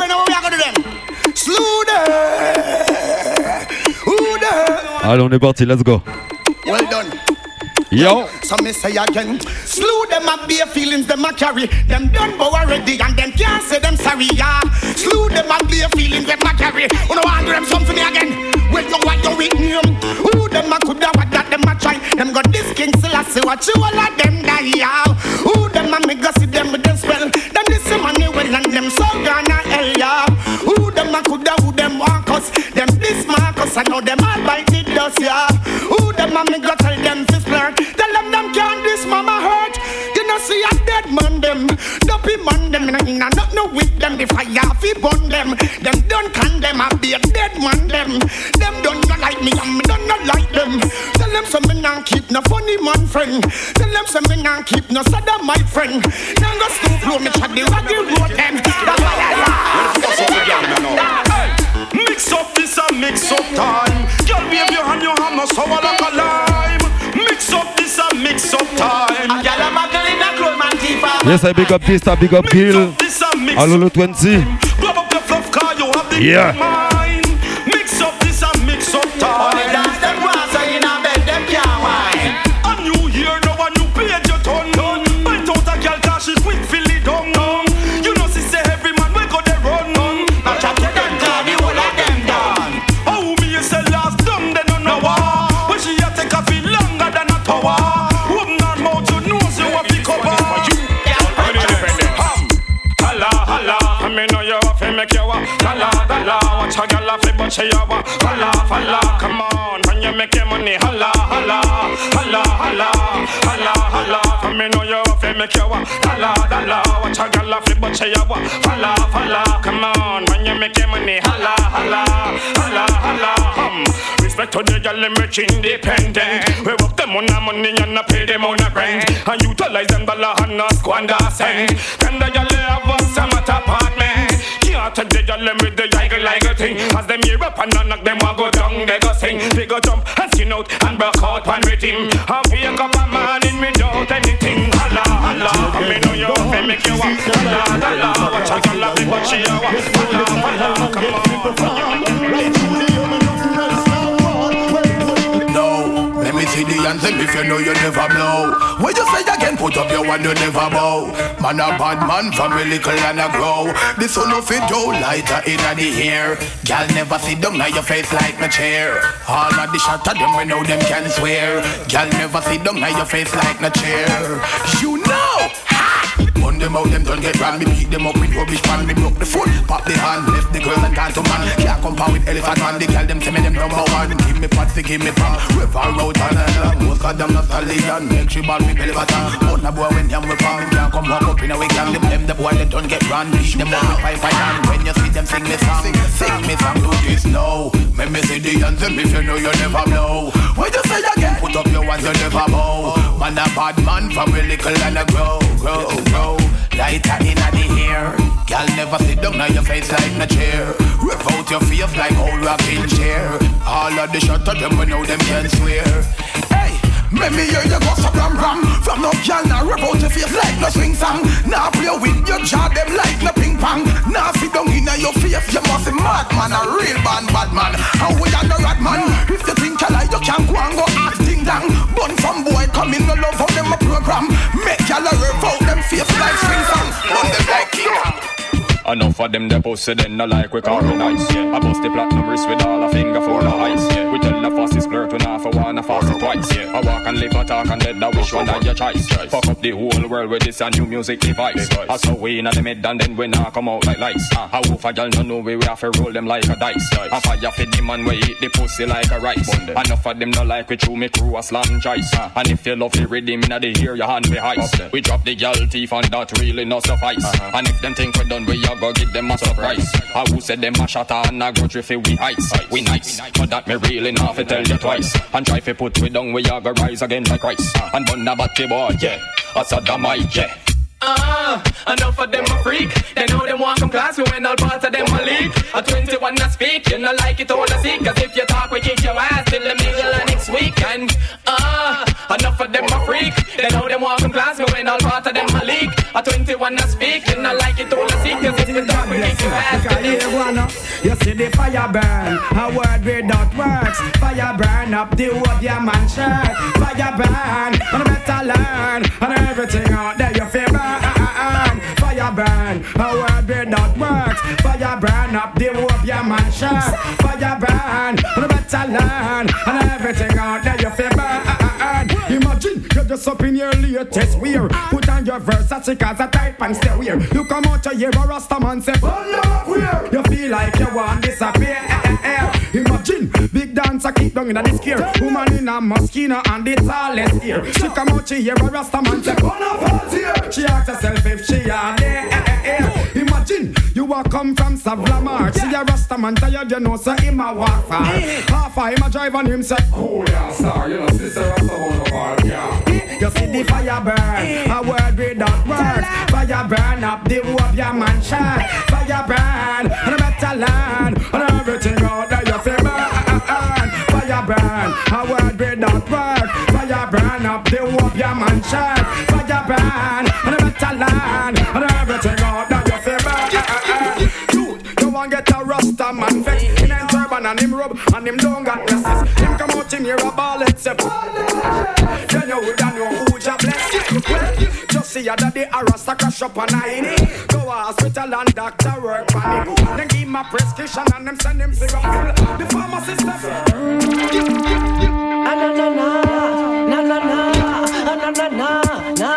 know what we are gonna do then? Slew them. Who them? Allez, on est parti, let's go. Well done. Yo. So me say again, slew them up bare feelings them a carry. Them done bow already and them can't say them sorry, yeah. Slew them up bare feelings them a carry. You know want them something again. Well you want your weak name. Who them a coulda what that them a try. Them got this king still a see what you all of them die, yeah. Who them a me go see them with them spell. Them this money well and them so gonna hell, yeah. Who them a coulda who them want us. Them this Marcus I know them all bite the dust, yeah. Who them a me go tell them to flirt. Tell them can't this mama hurt. You know see a dead man them. Dopey man them in a not no with them. The fire fi burn them. Them don't condemn a be a dead man them. Them don't not like me and me don't not like them. Tell them some me not keep no funny man friend. Tell them some me not keep no sada my friend. Now go stoop low me chat the raggy road them. That's why I like. Mix up this and mix up time. Girl wave your hand, your hand no sour like a lime. Mix up this and mix up time. Yes, I big up this, I big up Gil. Hello, 20. Grab up your fluff car, you have the mind. Mix up this and mix up time. Only dance them once, so you know bed them can't whine. A new year, now a new page your turn. Bite out a girl, cause she quick fill it down. You know she say every man we go there run. Now chat to them, cause the whole of them done. Oh, me you say last dumb, they don't know why. When she a take a feel longer than a tower. Open her mouth, you know she want to cover. I mean, know you have to make you walk. Dalla, dalla, watch a girl off the butt she a walk. Falla, falla, come on, when you make your money. Holla, holla, holla, holla, holla, holla. I mean, know you have to make you walk. Dalla, dalla, watch a girl off the butt she a walk. Falla, falla, come on, when you make your money. Holla, holla, holla, holla. Respect to the girl, them rich independent. We work them on the money and not pay them on the rent. And utilize them dollar and not squander cent. Can the girl have a summer apartment? Can't take the girl them with the eagle like a thing. As them hear up and knock them will go down, they go sing. They go jump and skin out and broke out one rhythm. And wake up a man in without anything. Holla, holla, I mean know you have to make you walk. Holla, holla, watch a girl have it but she a walk. Holla, holla, come on. Let me see the anthem if you know you never blow. When you say again, put up your one, you never bow. Man a bad man from a little and a grow. The sun of it do lighter in the air. Girl never sit down on your face like a chair. All of the shot of them we know them can swear. Girl never sit down on your face like a chair. You know. Burn them out, them don't get ran. Me beat them up with rubbish pan. Me broke the foot, pop the hand, left the girl and gone to man. Can't compare with elephant man. The girl them say me them number one. Give me patsy, give me pam. River road and along. Most of them not stallion. Make she ball with belly button. But na boy when them we pam. Can't come walk up in a way gang. Them the boy they don't get ran. Beat them up with pipe and when you see them sing me song, sing me song do this now. Make me see the anthem if you know you never know. When you say again, put up your ones you never bow. Man a bad man from a little and a grow, grow, grow. Lighter in the air. Girl never sit down on your face like a chair. Rev out your face like old rocking chair. All of the shot of them we know them can swear. Hey, make me hear you go so ram ram. From no girl now rev out your face like no swing song. Now play with your jaw them like no ping pong. Now sit down in your face you must be mad man. A real bad man. And we are no rat man. If you think you like you can go and go act ding dong. Bun some boy come in no love how them a program. Make y'all a rev out them face like swing song. On them like king. Enough of them they posted then no like we call nice. Yeah. I bust the platinum wrist with all a finger for the ice. Yeah. We tell the fastest flirt we not for one, a fast twice. Yeah. I walk and live a talk and let the wish one of your choice. Fuck up the whole world with this a new music device. I saw we in the mid and then we not come out like lights. How if a girl no know we have to roll them like a dice. I fire fit the man we eat the pussy like a rice. Enough of them no like we chew me crew a slam choice. And if you love the rhythm in the ear your hand be heist. We drop the girl teeth and that really not suffice. And if them think we done we go give them a surprise. I who said them a shatter and a grudge if we ice. We nice, but that me really not fi tell you twice. And try fi put we down, we a go rise again like Christ. And burn a batty boy, yeah, a sodomite, yeah. Enough of them a freak. They know them want come class, we when all parts of them a leak. A 21 a speak, you know like it all a seek. Cause if you talk, we kick your ass till the middle of next week. And enough of them a freak. They know them want come class, we when all parts of them a leak. A 21 a speak, you know like it all a seek. Cause if you talk, we kick your ass. You see the fire burn, a word without works. Fire burn up the whole your man shirt. Fire burn, and better learn. And everything out there you feel burn. Fire burn, a word without works. Fire burn up the whole your man shirt. Fire burn, and better learn. And everything out there you feel burn. Imagine you're just up in your latest wear. Put on your Versace cause a type and stay weird. You come out to hear a Rasta man say, you feel like you want disappear. Imagine big dancer keep down in the scare. Woman in a Moschino and the tallest ear. She come out to hear a Rasta man say, she ask herself if she are there. Imagine you walk come from Savlamar. See a Rasta man tired, you know, so him a walk far. Half a him a drive on him say, oh yeah, sir, you know, sister Rasta one of our, yeah. You see the fire burn, a word without words. Fire burn up the whole of your man shirt. Fire burn, and a better land. And everything out there you feel burn. Fire burn, a word without words. Fire burn up the whole of your man shirt. Fire burn, and a better land. And everything out there you feel burn. Dude, you want get a Rasta man vex. In a turban and him rub and him don't got dresses. Him come out in here a ball except. Then you would know who ja bless you. Well, just see ya daddy a Rasta crash up on a hinny. Go to hospital and doctor work on him. Then give him a prescription and them send him cigarette. The pharmacist says na na na na na na na na na na na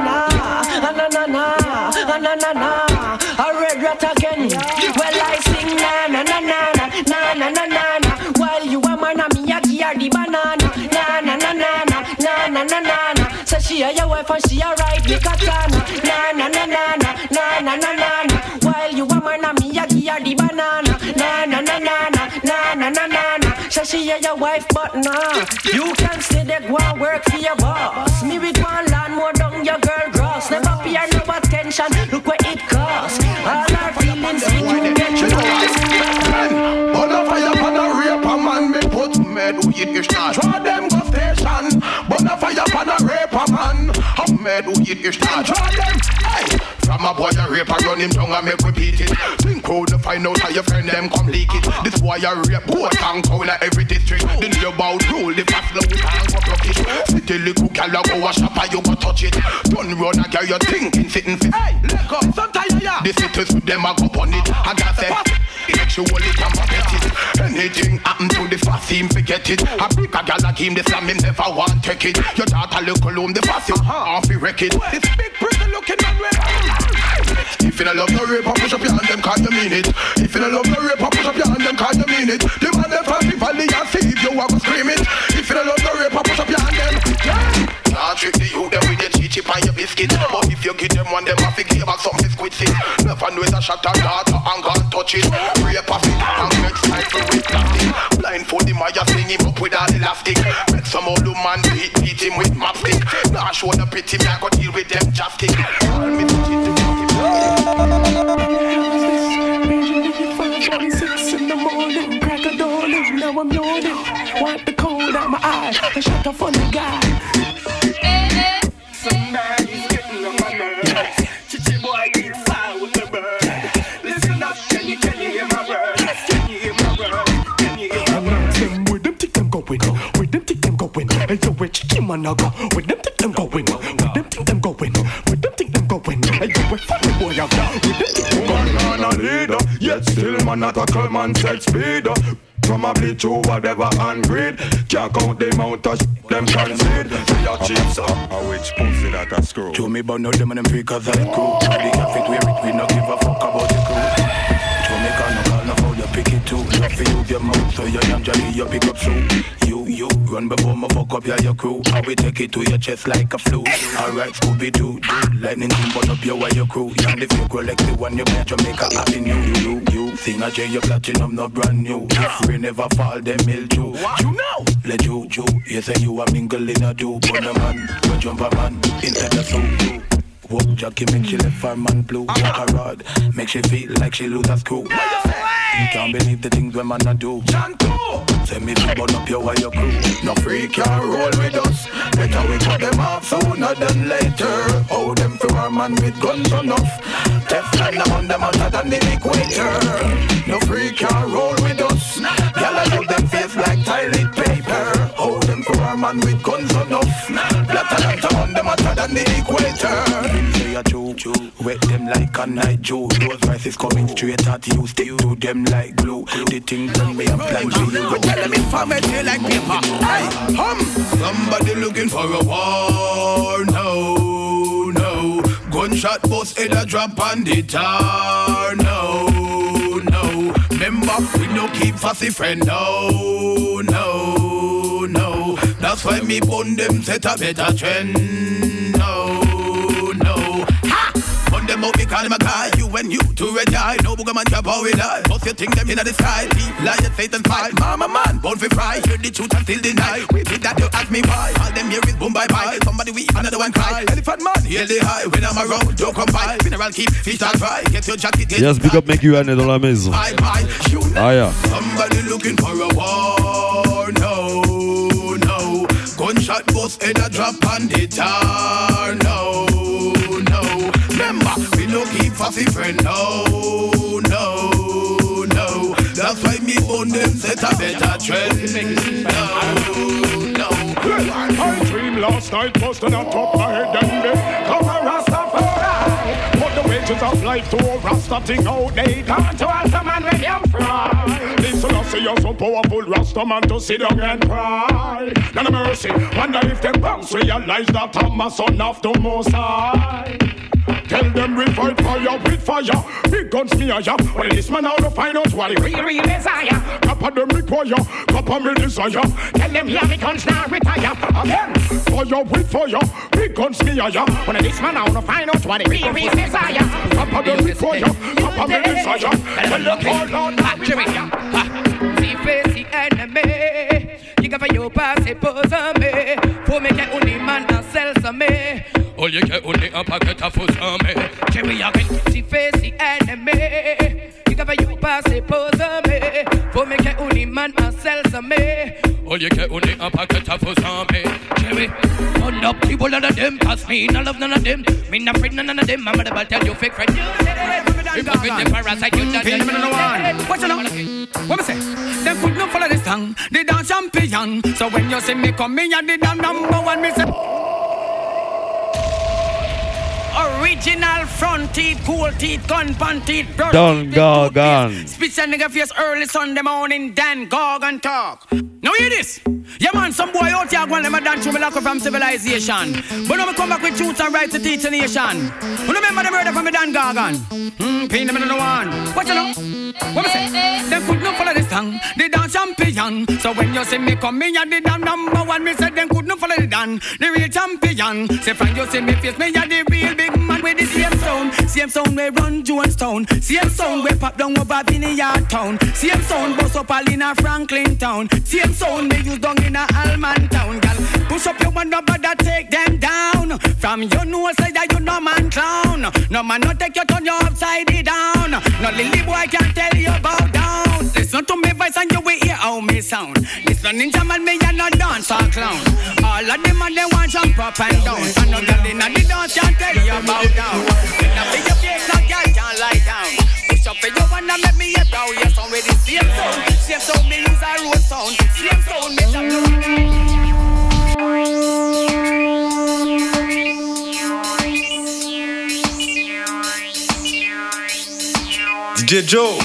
na na. I read rat again. Well I sing na na na na na na na na. While you a man a me a gear the banana. Na na na na na na na na. Say she a your wife and she a ride the katana. Na na na na na na na na. While you a man a me a gear the banana. Na na na na na na na na. Say she a your wife but nah. You can stay there go and work for your boss. Me with one land more down your girl gross. Never pay no attention. Look what it costs. All our feelings we do get you lost. On a fire, on a rape a man, me put med weed is not. Draw them go station. On a fire, on a rape a man, how med weed is not. Draw them, hey. From a boy a rape a run him down and make repeat it. Think out to find out how your friend them come leak it. This boy a rape both and town at every district. The new about rule, the fast low and go block it. City little gal a go a shop and you go touch it. Don't run a girl you thinking sitting fit. Hey, let go, sometimes ya. The cities with them a go on it. And I say, sexually can forget it. Anything happen to the fast team forget it. A big a gal like him the slam him never want take it. Your daughter look home the fast him off he wreck it. This big pretty looking man way. If you don't love no rape, push up your hand, them can't you mean it. If you don't love no rape, push up your hand, them can't you mean it. The man them from the valley and see if you want to scream it. If you don't love no rape, push up your hand, them. Can't trick the youth them with your chip and your biscuit. But if you give them one, them have to give back some biscuit sit. Never know it's a shot at daughter and can't touch it. Rape a fit and get stifled with plastic. Blindfold him while you sling him up with an elastic. Make some old man beat him with matchstick. Now show the pity me I go deal with them chapstick. Call me to keep the 6 in the morning, crack a dawn, now I'm yawning. Wipe the cold out my eyes, I shut up on the guy. Somebody's getting on my nerves. Chichi boy, get fire with the bird. Listen up, can you hear my words? Can you hear my words? Can you hear my words? With them tick them going, with them tick them going. And yo, where chicken man go? With them tick them going, with them tick them going, with them tick them going. And yo, where fucking boy out there? With them tick them going. Man a leader, yet still man not a call man sex speeder. Probably true whatever and greed. Can't count the amount of them concede. They are cheap so a witch pussy that a screw. Show me about no them and them freakers like crew. The cafe wear it, we no give a fuck about the crew. Jamaica no call no how you pick it too. Love for you your mouth so you damn jolly you pick up soon. You run before me fuck up your crew. How we take it to your chest like a flu. Alright Scooby-Doo, lightning team burn up your wire crew. And if you grow like the one you bet Jamaica Avenue. You sing a J, your platinum no brand new. If rain never fall, them mill too. You know, let you, you say you a mingle in a do. Burn a man, go jump a man, inside the suit. Walk Jackie make she left her man blue. Walk a rod, make she feel like she lose a screw. You can't believe the things when man a do. Say me to burn up your wire crew. No freak can roll with us. Better we cut them off sooner than later. How them for a man with guns enough. Teflon on them hotter than the equator. No freak can roll with us. Y'all use them face like toilet paper. How them for a man with guns enough. Blatter on them hotter than the equator. Say a true, wet them like a night Jew. Those voices coming straight at you. Stick to them like glue. The thing when me and plan for you. But tell them information like paper. Hey, somebody looking for a war. No. Gunshot bust head a drop on the tar. No. Remember, we no keep fussy friend. No. That's why me bun them set a better trend. No. Ha! Bun them out because them a guy. You and you to red eye. No booger man drop how we die. Most you think them in the sky. Deep lion Satan fight. Mama man, bun for fry. Hear the truth and still deny. We did that you ask me why. All them here is boom bye bye. Somebody weep, another one cry. Elephant man, hear the high. When I'm around, don't come by. Mineral keep, fish and fry. Get your jacket. Yes, big up, make you année dans la maison. Ah yeah. Somebody looking for a war. No. Gunshot bust head a drop on the tar. No. Remember, we no keep fussy friend. No. That's why me own them set a better trend. No. I dream last night was on top of my head and then come a Rastafari. Put the wages of life to a Rasta thing out they can't to answer man when you fry. Listen, I say you're so powerful Rasta man to sit down and cry. None of mercy, wonder if them banks realize that I'm a son of the Most High. Tell them we fight fire with fire. Big guns me a ya. Well, this man out to find out what the real desire. Copper them require, copper me desire. Tell them yeah, me guns now retire. Again, fire with fire. Big guns me a ya. Well, this man out to find out what the real desire. Copper them require, copper me desire. Tell them all out to see face the enemy. You can you pass it, pose on me. For me get only man and sell some me. All you get only a packet of food on me. Jerry, I can see face the enemy. You can you pass it, pose on me. For me get only man and sell some me. All you get only a packet of food on me. Jerry, on up people none of them pass me. No love none of them. Me not friend none of them. I'm gonna tell you fake friend. If you fit the parasite, you done. What you know? What me say? Them could not follow this tongue. They dance champion. So when you see me coming, you the damn number one. Me say original front teeth, cool teeth, gun pan teeth, brush Don Gorgon. Speech and nigga face early Sunday morning. Dan Gorgon talk. Now hear this. Yeah man, some boy out here going them a dance through me lock up from civilization. But now me come back with truth and right to teach the nation. You remember the murder from me Dan Gorgon? Pain them in the one. What you know? What me say? Them could not follow this tongue. They dance champion. So when you see me coming, you the damn number one. Me said them could not follow the Dan, the real champion. Say from you see me face, me you the real big man with the same sound we run Jonestown. Same sound we pop down over Vineyard Town. Same sound bust up all in a Franklin Town. Same sound we use down in a Alman Town. Girl, push up your one number that take them down. From your nose side that you no man clown. No man no take you turn you upside it down. No lily boy can't tell you about down. Listen to me voice and you will hear how me sound. Listen ninja man me and no dance or clown. All of them and they want jump up and down. And no girl in the dance can't tell you about down. Now be your face no girl can't lie down. Push up for you wanna make me a brow. Yes already same sound me use a road sound. Same sound me jump down. DJ Joe.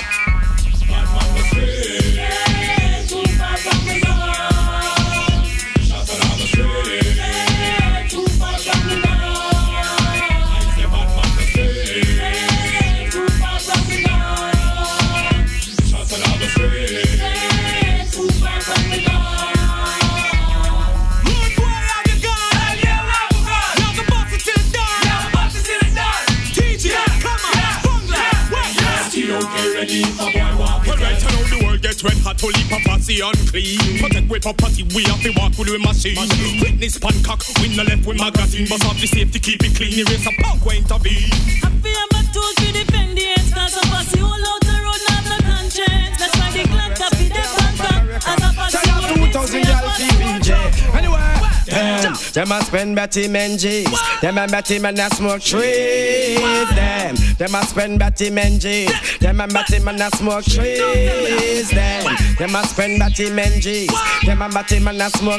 Red hot to leap up and see unclean. Protect with property, we have to walk with machine. Witness pan cock, win the left with magazine. Bust off the safety, keep it clean. Erase a punk way intervene. I feel my tools to defend the ends. Cause I pass you all out the road, not the conscience. That's why the Glock copy the bank. As a pass Them a spend Betty men G's. Them a Betty men a smoke trees. Them a spend Betty men G's. Them a Betty men a smoke trees. Them a spend Betty men G's. Them a Betty men a smoke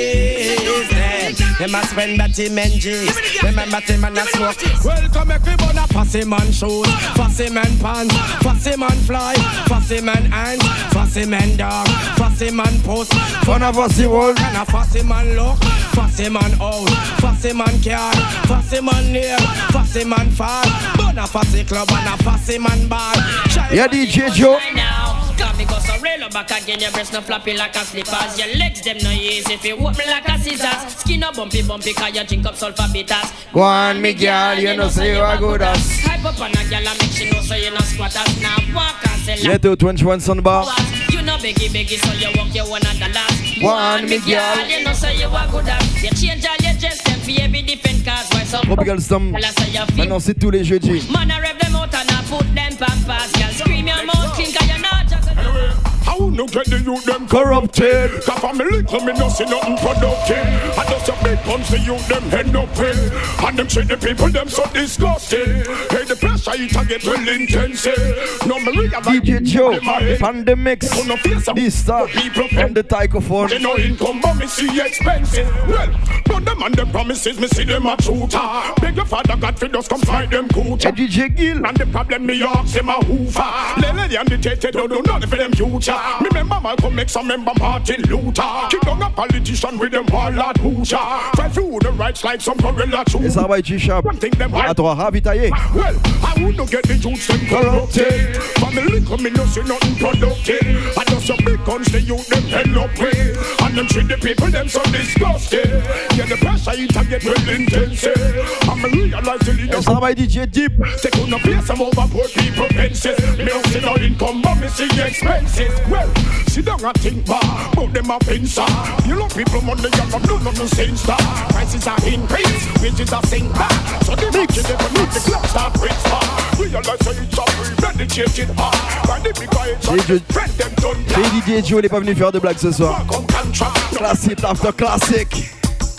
trees. Them a spend Betty men G's. Them a Betty men a smoke. Welcome everyone a fussy man shoes, fussy man pants, fussy man fly, fussy man ant, fussy man dog, fussy man post. Fun a fussy wall. And a fussy man look, fussy man out, fussy man car, fussy man near, fussy man fall. Burn a fussy club and a fussy man bar. Yeah, DJ Joe. Come me go so real back again, your breast no floppy like a slippers. Your legs them no easy if you walk me like a scissors. Skin no bumpy cause you drink up sulfur bitters. Go on me girl, you know say you are good as. Hype up on a girl and make she know so you no squatters. Now walk and sell Yeah, to 21 Sunbar. You know beggy so you walk your $100. Go on me girl, you know say you are good as. You change all your dress them for every different cars. Why so Tropical Stomp. Maintenant c'est tous les jeudis. Man I rev them out and I put them pampas. Girl scream your mouth clean cause you're not just how no get the youth them corrupted? Cause for me little me no see nothing productive. I just a big guns the youth them head up in. And them treat the people them so disgusting. Hey the pressure it a get real intense. No me realize DJ Joe, Pandemics, this stuff from the Tycophone. They no income but me see expensive. Well, but them and them promises me see them a shooter. Beg your father God for just come fight them cooter. DJ Gill. And the problem me ask them a hoover. Lele and the tete don't do nothing for them future. Remember Malcolm X, I remember Martin Luther. Kick down a politician with them warlord Hooja. Fight through the rights like some gorilla trooper. Et ça va être G-Sharp. À toi, ravitaillé. Well, I wouldn't get the youths them corrupted. Family come in, no see nothing productive. I just a big guns, the youth them hell up with. And them treat the people them so disgusting. Yeah, the pressure it a get real intense. I'm realize the leaders. Et ça va être DJ Deep. They couldn't pay some overboard people penses. Me don't see no income, but me see expenses. Well, sit down and think back, but them a pincer. You know people money and not do nothing sense that. Prices are increased, wages are sink back. So the rich they can make the club start rich far. Realize that it's a free, then they change it hard. By the big guys, friend them done. DJ Joe, il est pas venu faire de blagues ce soir. Classique after classique.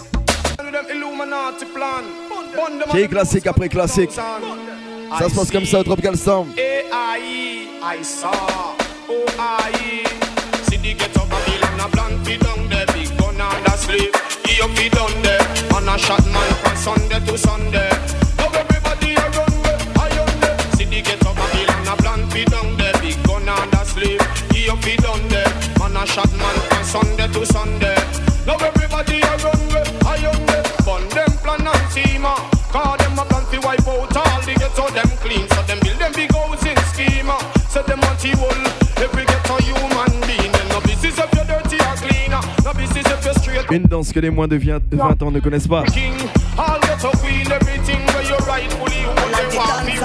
J'ai classique après classique. Ça se passe comme ça au Tropical Storm. I saw. O-I-E. See the get up a bill and a blank feed down there. Big gun and a sleep. He up feed down there. And a shot man from Sunday to Sunday. Now everybody a run there, I run there. See the get up a bill and a blank feed down there. Big gun and a sleep. He up feed down there. And a shot man from Sunday to Sunday. Now everybody a run there, I run there. Bun them plan and schema. Call them a plan to wipe out all the ghetto them clean. So them build them big housing schema. So them anti-wall, every ghetto human being. No business if you're dirty or clean. No business if you're straight. Une danse que les moins de 20 ans ne connaissent pas. King, all ghetto queen, everything where you're rightfully who they want me.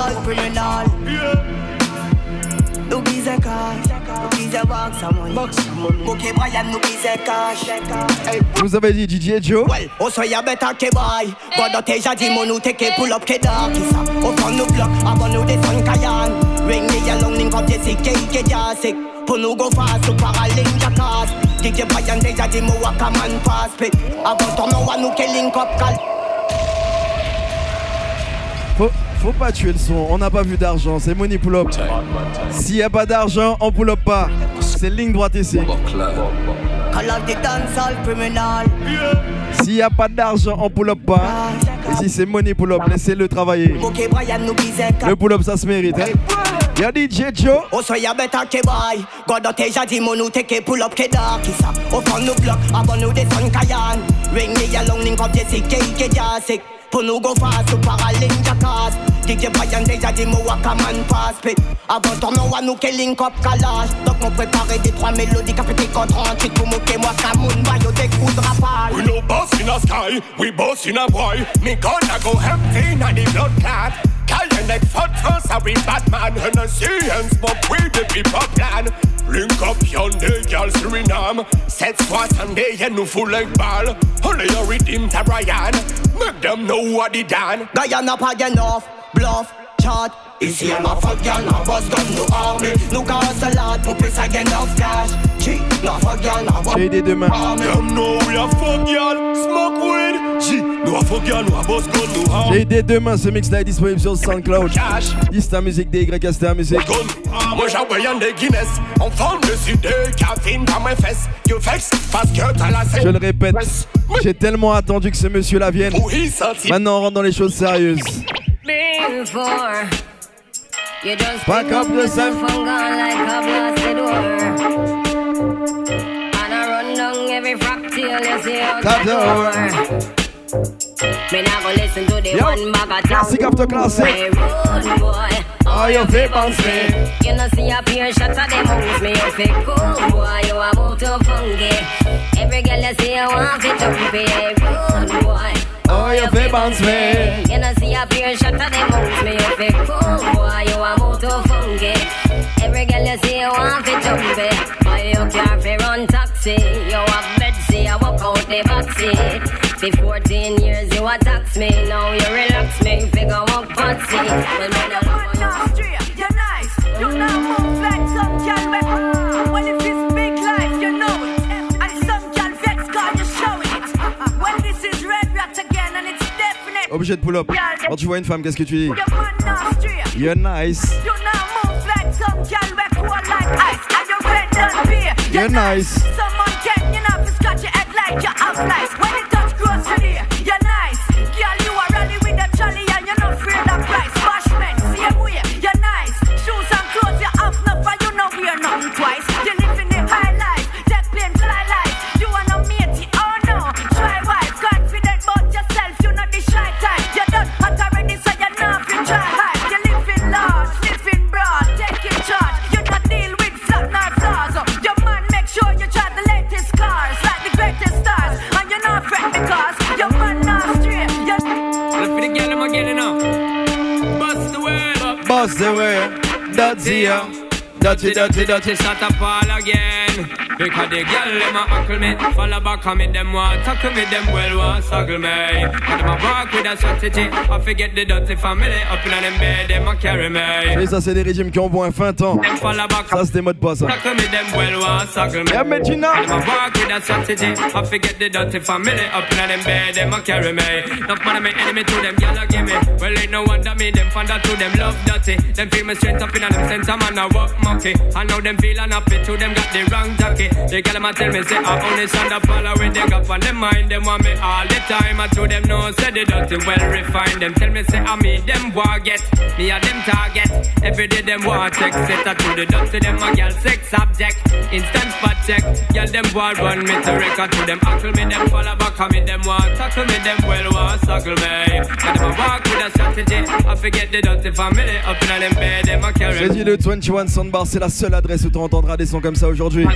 No biz a cash, no biz a box a money. Okay, Brian, no biz a cash. Vous avez dit DJ Joe? Well, also you better ke boy. God don't tell you the money take pull up ke dark isa. Up on the block, I want the sun kayan. Ring the yellow link up the sick ke jasik. Pull go fast to paralink the cars. DJ Brian tell you the mo waka man pass pick. I want to know one who can link up call. Faut pas tuer le son, on n'a pas vu d'argent, c'est money pull up. S'il y a pas d'argent, on pull up pas. C'est ligne droite ici. S'il y a pas d'argent, on pull up pas. Ici c'est money pull up, laissez-le travailler. Le pull up ça se mérite. Hein? Y'a DJ Joe. Also you better ke boy. God don't tell you the money take pull up ke dark isa. Up on the block, I want the sun kayan. Ring the yellow link up the sick ke jasik. Pull go fast to paralink the cars. DJ Brian déjà dit mo waka man pass pit. Avant ton nom à nous qu'elle link up calage. Donc on préparait des trois mélodies capété contre 38 pour moquer moi Camoun maillot des coups de rafale. We no boss in a sky, we boss in a boy. Me gonna go empty in the blood clot. Call your neck for us, a we Batman. And a see and smoke with the people plan. Link up yonder, girl Suriname. 7 fois Sunday and nous full like ball. Only a redeem to Brian. Make them know what they done. Guyana pas enough, bluff, chat. Ici I'm a fuck y'all, no boss gun, no army. No cause a lot, pour plus again of cash. Cheat, no fuck y'all, no J'ai des deux mains. Them know we a fuck y'all, smoke weed, J'ai dès demain ce mix là est disponible sur SoundCloud. Dis ta musique des Y, c'est ta musique. Moi j'envoie des Guinness. On forme dessus de caféine dans mes fesses. You vex parce que t'as la scène. Je le répète, j'ai tellement attendu que ce monsieur là vienne. Maintenant on rentre dans les choses sérieuses. Back up the sun. Me not go listen to the one bag of classic after classic. Rude boy, oh you fake bounce me. You know see a pure shot of them moves me. You fake cool boy, you a move too funky. Every girl you see you want to jump it. Rude boy, oh you fake bounce me. You know see a pure shot of them moves me. You fake cool boy, you a move too funky. Every girl you see you want to jump it. Boy you can't fi run taxi. You have bed see I walk out the backseat. For 14 years you attack me, now you relax me, figure walk patsy. Well, man, I'm straight, you're nice. You now move like some girl with. Well, if it's big life, you know it. And some girl vex cause you're showing it. Well, this is Red Rat again and it's definite. Obligé de pull up. Quand tu vois une femme, qu'est-ce que tu dis? You're nice. You now move like some girl with cool like ice. And you're red and beer. You're nice. Someone can, you know, scratch your head like you have lice. When it grocery, you're nice. Girl, you are rally with a trolley and you're not afraid of price. Bashment, same way, you're nice. Shoes and clothes you have enough and you know we're nothing twice. You live in the high life, take plane, fly life. You are no matey, oh no. Try wife, confident about yourself, you know the shy type. You're done hot already, so you're not free, try hide. You live in large, live in broad, take in charge. You not deal with flat nor flaws. Your man make sure you try the latest cars, like the greatest stars. And you're not fret because your man not straight. Look for the girl I'm getting up. Bust the word up. Bust the word. That's here. Dirty, start up all again. Because the girl them a huckle me. Follow back on me, them want tackle me, them well want saggle me. And them a walk with a strategy. I forget the dirty family. Up in them bed, them a carry me. Et ça c'est des régimes qui ont bon un fin temps. Ça c'est des modes pas ça. Tackle me, them well want saggle me. Yeah, Medina. And them a walk with a strategy. I forget the dirty family. Up in them bed, them a carry me. Enough man me enemy to them, y'all a give me. Well ain't no wonder me, them find out to them love dirty. Them feel me straight up in them center man a walk monkey. I know them feel unhappy to them got the wrong jockey. They girl them a tell me say I only stand up follow with them up on them mind. Them want me all the time. I to them no say they dirty well refined. Them tell me say I me them want get me a them target. Every day them want check set to the dirty them a girl sex object. Instant spot check. Girl them want run me to record to them hackle me them follow back on me them want tackle me them well want suckle me. Got them a walk with a strategy. I forget the dirty family up in them bed them a carry. J'ai dit le 21 Soundbar, c'est la seule adresse où tu entendras des sons comme ça aujourd'hui.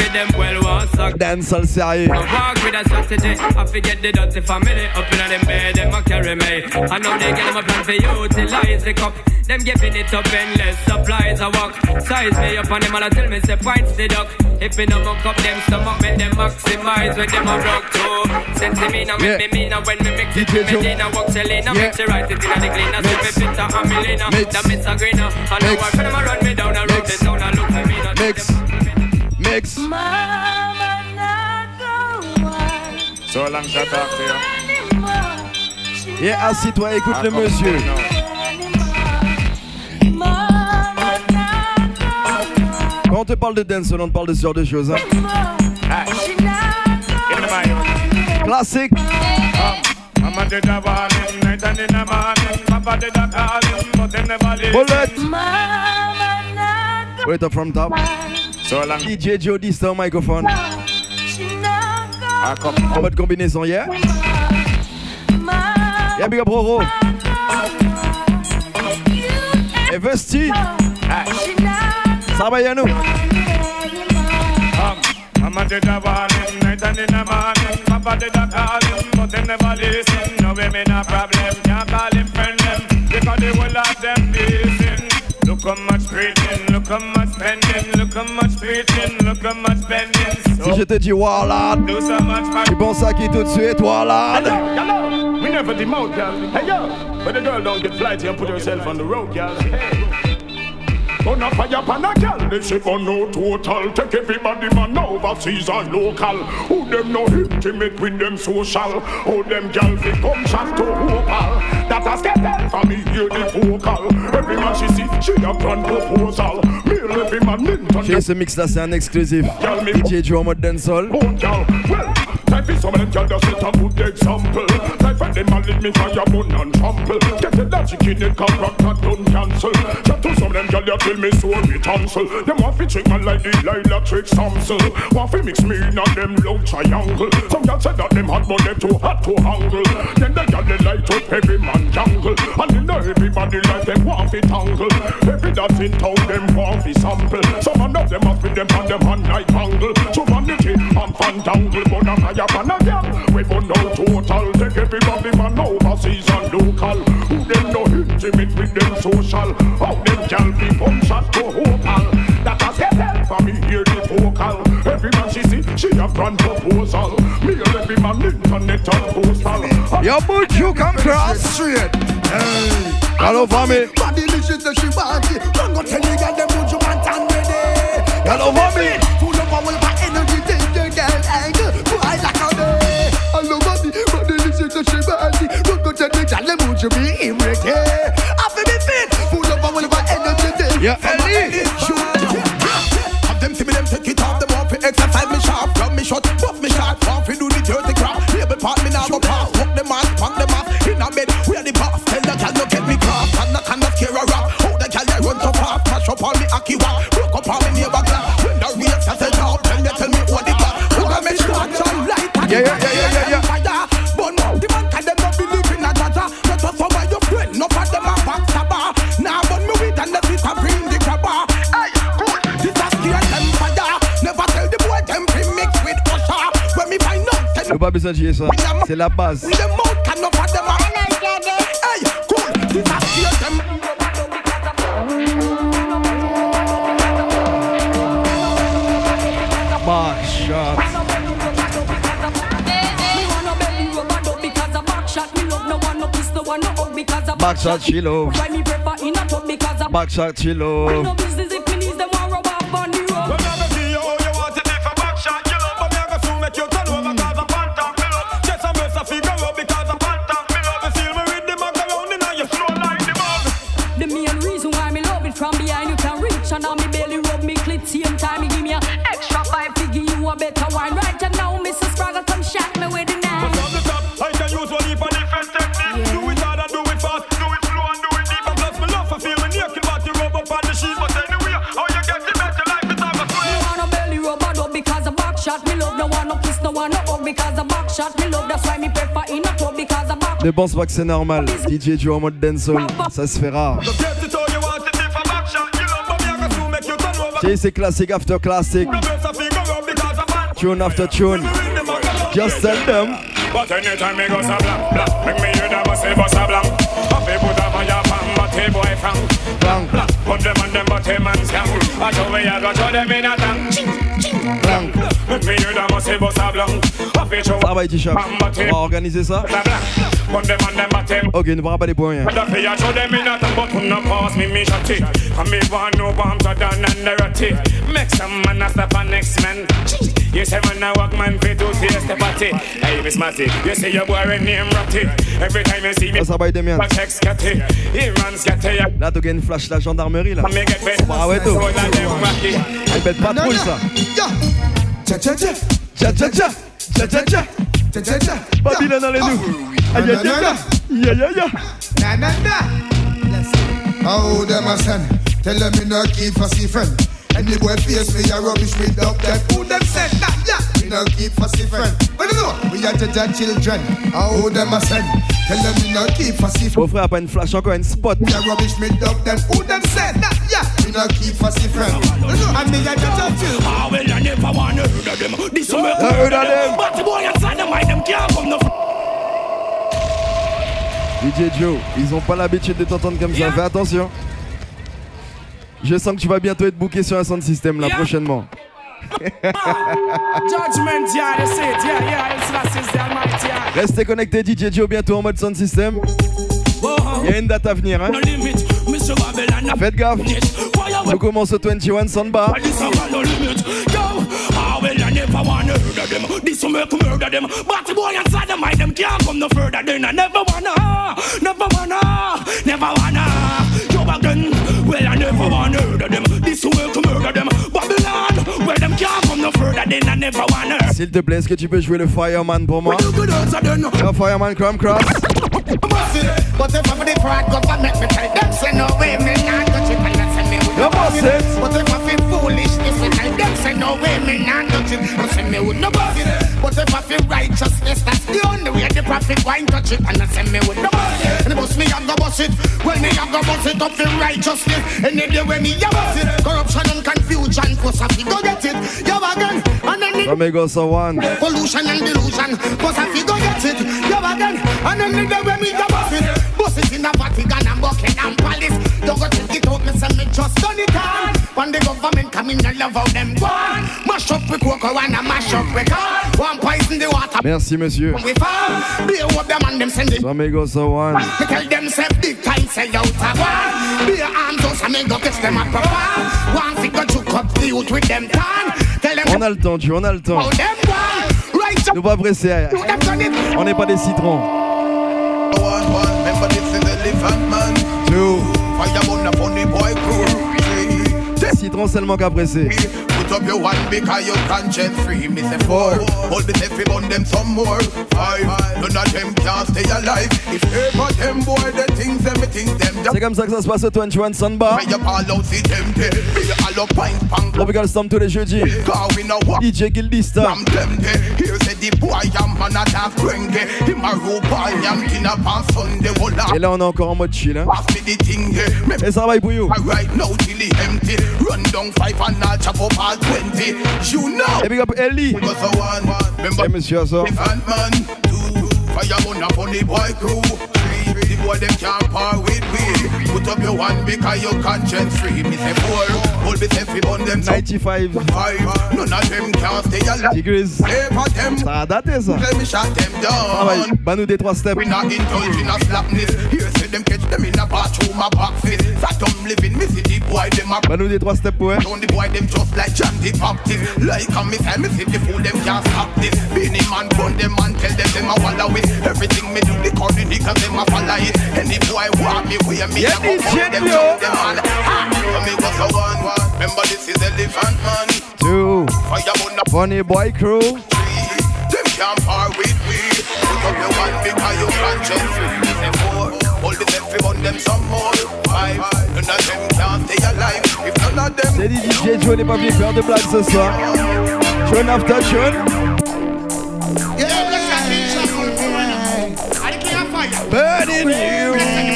Dancehall sérieux. Walk with a strategy. I forget the dirty family up in them bed them a carry me. I know they get them a plan for you utilize the cup. Them giving it up endless supplies I walk. Size me up and them all tell me say points the duck. If me no muck up them stomach make them maximize when them a rock too. Sense me now make me mean when me mix it with me Dina walk Selena mix it right it in the cleaner. See me fitter and me leaner. That miss a greener. I know why them a run me down a road. They sound a look for me not Mix. Mama not the one. So long shall talk to you. Yeah, assis-toi, écoute le monsieur. Quand on te parle de dance, on te parle de ce genre de choses. Hein. Classique. Bullet. Wait up from top. So long. DJ Joe Dista au microphone. En mode combinaison, yeah? Yeah, big up Roro. Et Vesti. Ça va, Yannou? Mama did a warning, night and in the morning. Papa did a calling, but them never listen. No women a problem, can't call him friend them. Because they will have them facing. Look how much preaching, look how much spending. Look how much preaching, look how much spending. Si je te dis Warlord, tu penses à qui tout de suite, Warlord? We never demote, girl. Hey yo, but the girl don't get flighty and put herself on the road, girl. Hey. On a fire pan a girl, they say on no total. Take everybody man overseas and local. Who them no intimate with them social? Who them girl they come shot to vocal. That has get them for me hear the vocal. Every man she see, she a grand proposal. Male every man in. Chez ce mix là c'est un exclusif. DJ Joe en mode dancehall. Type is some of them girl that set a good example. Type and them man leave me fire bun and trample. Get the logic in it, contract that don't cancel. Chat to some of them girl that kill me so me tonsil. Them want fi trick man like the Lila trick Samson. Want fi mix me in and them love triangle. Some girl said that them hot but they too hot to handle. Then the girl they light up every man jungle. And you know everybody like them want fi tangle. Every that's in town them want fi sample. Some of them must be them on them hand like angle. So vanity and fandangle. But I'm fire pan a girl. We burn out total. Take everybody man overseas and local. Who them no intimate with them social. How them girl be come shot to vocal. That has get help for me hear the vocal. Every man she see, she a grand proposal. Me and every man internet and postal. Yo, but you come cross straight. Hey, hello family. Body licious that she want it. Don't go tell me that them would you want and ready. Hello family. Full of power, my energy, take the girl angle. I like how they. Hello body, body licious that she want it. Don't go tell me that them would you be in ready. I feel me fit. Full of power, my energy, take. Yeah, Ellie. Have them see me, them take it off. Them want to exercise me sharp, rub me short, buff me sharp. Want to do the dirty crap. Label part me now go pass. Walk them ass, punk them off. In a bed, we are the boss. Tell the girl no get me cross. And I cannot scare a rap. How the girl they run so fast. Mash up all me aki wap. Broke up all me neighbor glass. When the race has a job, then they tell me what the glass. Look at me short and light. Yeah. Fire. But no, the man can them not believe in a jaja. Not for some of your friends. No for them a backstabber. Now but me with and the sister bring the grabber. Hey, cool. This a scare them fire. Never tell the boy them be mixed with Usher. When me find out. Y'a pas besoin de chier ça, c'est la base. Backshot she love. Backshot she love. From behind you can reach and now me belly rub me clit. Same time me give me a extra 5 to give you a better wine. Right and now Mr. Spraggle come shot me with the knife. But on the top, I can use one for different techniques. Do it hard and do it fast, do it slow and do it deep. And plus me love for feel me naked but you rub up on the sheet. But anyway, how you get it better life is have a sweat. Me want a belly rub and up because a back shot. Me love no one no kiss, no one no hug because a back shot. Me love that's why me prefer in a tub because a back. Ne pense pas que c'est normal. DJ Joe en mode dancehall, ça se fait rare. C'est classique after classic. Tune after tune. Just tell them. But anytime me go so blank, make me hear them say bust a blank. Happy put a fire pan, but hey boy frank. Put them on them but hey man scam. I show me I go show them in a tank. Make me hear them say bust a blank. Happy show. Ça va T-Shop. On va organiser ça. Ok, ne parle pas des points. Make some man after the next man. You say man a walk man fit to taste the party. Hey Miss Matty, you say your boy name Ratty. Every time you see me, ça va être bien. Là, tu gagnes une flash la gendarmerie là. Ah ouais, toi. Elle pète pas trop ça. Babylone dans les nous. Aïe aïe aïe. Oh, them a send. Tell them me no keep fussy friend. Any boy face me a rubbish with up them. Who them send that? Yeah, me no keep fussy friend. But you know, we are judge children. Oh, them a send. Tell them me no keep fussy friend. Mon frère a pas une flash encore une spot. Me a rubbish with up them. Who them send that? Yeah, me no keep fussy friend. And me a judge children. Ah well, I never wanna heard of them. This one heard of them. But the boy inside them, I them can't come no. DJ Joe, ils ont pas l'habitude de t'entendre comme ça, fais attention. Je sens que tu vas bientôt être booké sur un sound system là prochainement. Restez connectés, DJ Joe bientôt en mode sound system. Il y a une date à venir, hein. Faites gaffe. On commence au 21 Samba. Well, I never wanna murder them. This will make murder them. But the boy inside the mind, them can't come no further. Then I never wanna. Go back then. Well, I never wanna murder them. This will make murder them. Babylon, well, them can't come no further. Then I never wanna. S'il te plaît, est-ce que tu peux jouer le Fireman pour moi? Le Fireman Crumb Cross. But if I'm the fraud government, me tell them say no way, me not touch it, and that's me with no boss it. But if I feel foolish, if me tell them say no way, me not touch it, and say me with no boss it. But if I feel righteousness, that's the only way the prophet won't touch it, and that's me with no boss it. And boss me I go boss it, when me I go boss it up feel righteousness, and the day when me I boss it, corruption and confusion, cause I feel go get it, yo again, and then Amigos are one. Pollution and delusion, cause I feel go get it, yo again, and then the day when me I boss it. Bust it in a Vatican and Buckingham Palace. Don't go check it out, me say me just done it all. When the government come in, I love how them gone. Mash up with cocoa and a mash up with car. One poison the water. Merci, monsieur. We fall. Be a what them and them send it. Amigos are one. Me tell them say big time say out a one. Be a arms house and me go catch them at profile. One figure to cut the youth with them tan. Tell them. On a le temps, Dieu, on a le temps. Nous pas pressés. On n'est pas des citrons. Remember this is Elephant Man. 2. Fire on the funny boy crew. Citron seulement qu'à presser. Put up your one because your conscience free. Me say 4. Hold the selfie on them some more. 5. None of them can't stay alive. If ever them boy the things them think them. C'est comme ça que ça se passe au 21 Samba. Tropical Storm tous les jeudis. DJ Gildista. Et là on est encore en mode chill hein. Et ça va pour you. Et big up Ellie. Et monsieur Assor. The boy them can't part with me. Put up your one because your conscience free. Me say 4. Hold the selfie on them 95. 5. None of them can't stay alive. Degrees. Ça a daté ça. Let me shut them down. Banou des 3 steps. We not indulge in a slapness. Here say them catch them in a bathroom, my back fit. That I'm living me see the boy them a. Banou des 3 steps ouais. Don't the boy them just like John the Baptist. Like a me say me see the fool them can't stop this. Beanie man run them and tell them a walla with. Everything me do the corny niggas them a follow it. Any boy want me where me a go for them jump them all. Me go so 1. Remember this is Elephant Man. 2. Funny boy crew. 3. Them can't part with me. Put up your one because you conscience free. Me say 4. Hold the selfie on them some more. 5. None of them can't stay alive. If none of them. C'est DJ Joe n'est pas venu faire de blagues ce soir. Tune after tune. Burning you.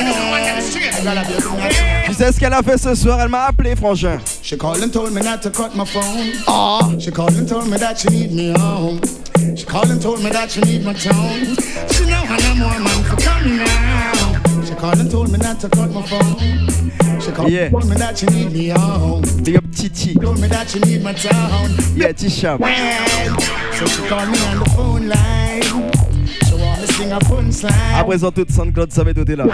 Tu sais ce qu'elle a fait ce soir? Elle m'a appelé, frangin. She called and told me not to cut my phone. She called and told me that she need me home. She called and told me that she need my tone. She know I know more man for coming now. She called and told me not to cut my phone. She called and told me that she need me home. Big up Titi. Told me that she need my tone. Yeah, T-Shop. So she called me on the phone line. À présent, toute SoundCloud savait tout est là.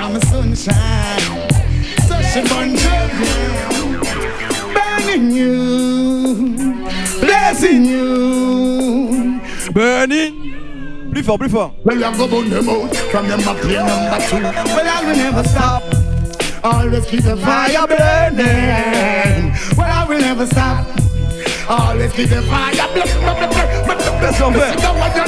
Burning you, blessing you, burning. Plus fort, plus fort. Well, I go burn them out from them up here number 2. Well, I will never stop. Always keep the fire burning. Well, I will never stop. Always keep the fire burning. Let's go back.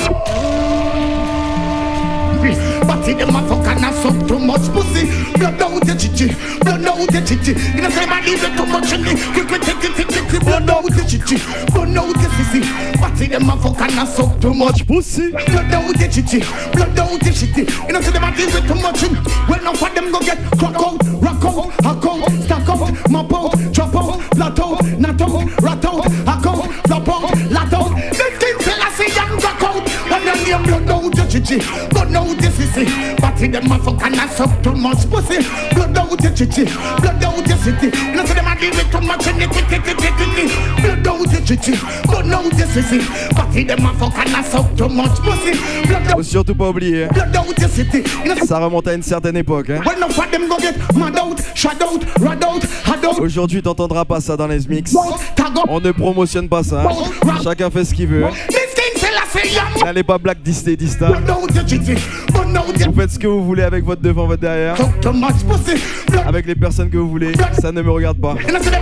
But see them motherfucker not suck too much pussy. Blood out the chichi, blood out the chichi. You know say man leave too much in me. Quick take it, blood out the chichi, blood out the sissy. But see them motherfucker not suck too much pussy. Blood out the chichi, blood out the shitty. You know say them leave too much in. Well now for them go get crack out, rock out, hack out, stack out, mop out, chop out, flat out, nut out, rat out, hack out, flop out, lat out. This thing say I see young rock out. And then them blood out the chichi, blood out the sissy. But see them motherfucker not suck too much pussy. Blood out the chichi, blood out the city. You know see them leave too much in it. Blood out the chichi, blood out the sissy. But see them motherfucker not suck too much pussy. Faut surtout pas oublier. Ça remonte à une certaine époque. Hein. go get mad out, shut out, rad out, had out. Aujourd'hui, t'entendras pas ça dans les mix. On ne promotionne pas ça. Chacun fait ce qu'il veut. N'allez pas black Disney Dista. Vous faites ce que vous voulez avec votre devant, votre derrière. Avec les personnes que vous voulez. Ça ne me regarde pas.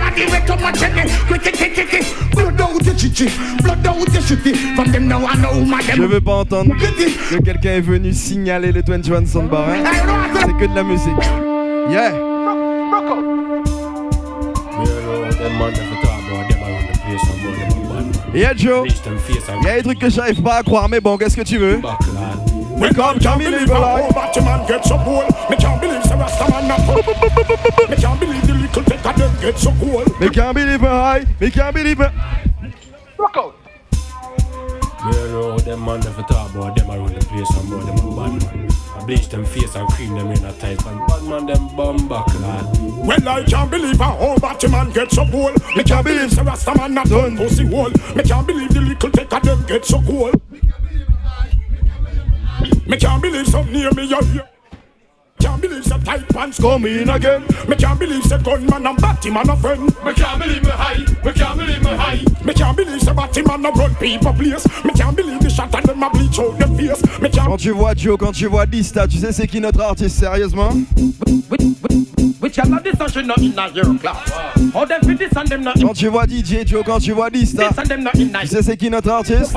Je veux pas entendre que quelqu'un est venu signaler le 21 Soundbar. Hein. C'est que de la musique. Yeah. Yeah Joe, y'a des trucs que j'arrive pas à croire, mais bon, qu'est-ce que tu veux? We can't believe how Batman gets so cool. Me can't believe the Rastaman not cool. Me can't believe the little tech of them get so cool. Me can't believe high, me can't believe it. Rock out. Me know them man never talk about them around the place and about them a bad man. I bleach them face and cream them in a tight and bad man them bum back lad. Well I can't believe how Batman gets so cool. Me can't believe the Rastaman not done pussy hole. Me can't believe the little tech of them get so cool. Me can't believe something near me here. Can't believe the tight pants come in again. Me can't believe the gunman and Batman a friend. Me can't believe me high. Me can't believe me high. Me can't believe the Batman a run people place. Me can't believe the shot and them a bleach out them face. Me can't. Quand tu vois Joe, quand tu vois Dista, tu sais c'est qui notre artiste sérieusement? Quand tu vois DJ Joe, quand tu vois Dista, tu sais c'est qui notre artiste?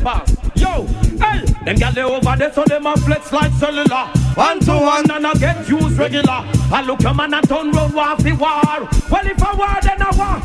Yo, hey, them gal they over there so them a flex like cellular. 1 to 1 and I get used regular. I look a man and turn round war fi war. Well if I war then I war.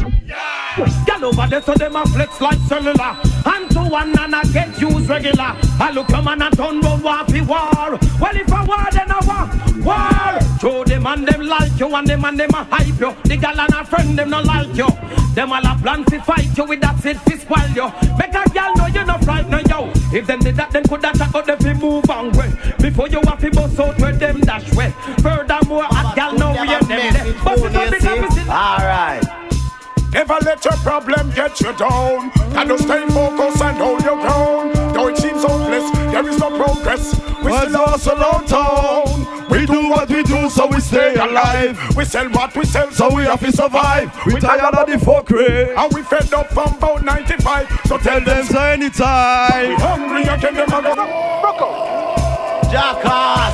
Gal over there so them a flex like cellular. 1 to 1 and I get used regular. I look a man and turn round war fi war. Well if I war then I war. War. Show them and them like you and them a hype you. The gal and a friend them not like you. Them all a plan fi fight you with that shit fi spoil you. Make a gal know you not frightened yo. If them did that, them could have shot out them fi move on way. Before you have to bust out where them dash way. Furthermore, a gal know where them there. But it's not the opposite. Alright. Never let your problem get you down. And just stay focused and hold your ground. Though it seems hopeless, there is no progress. We still hustle on town. We do what we do so we stay alive. We sell what we sell so we have to survive. We tired of the fuckery and we fed up from about 95. So tell them so anytime. We hungry again, them a go. Jackass.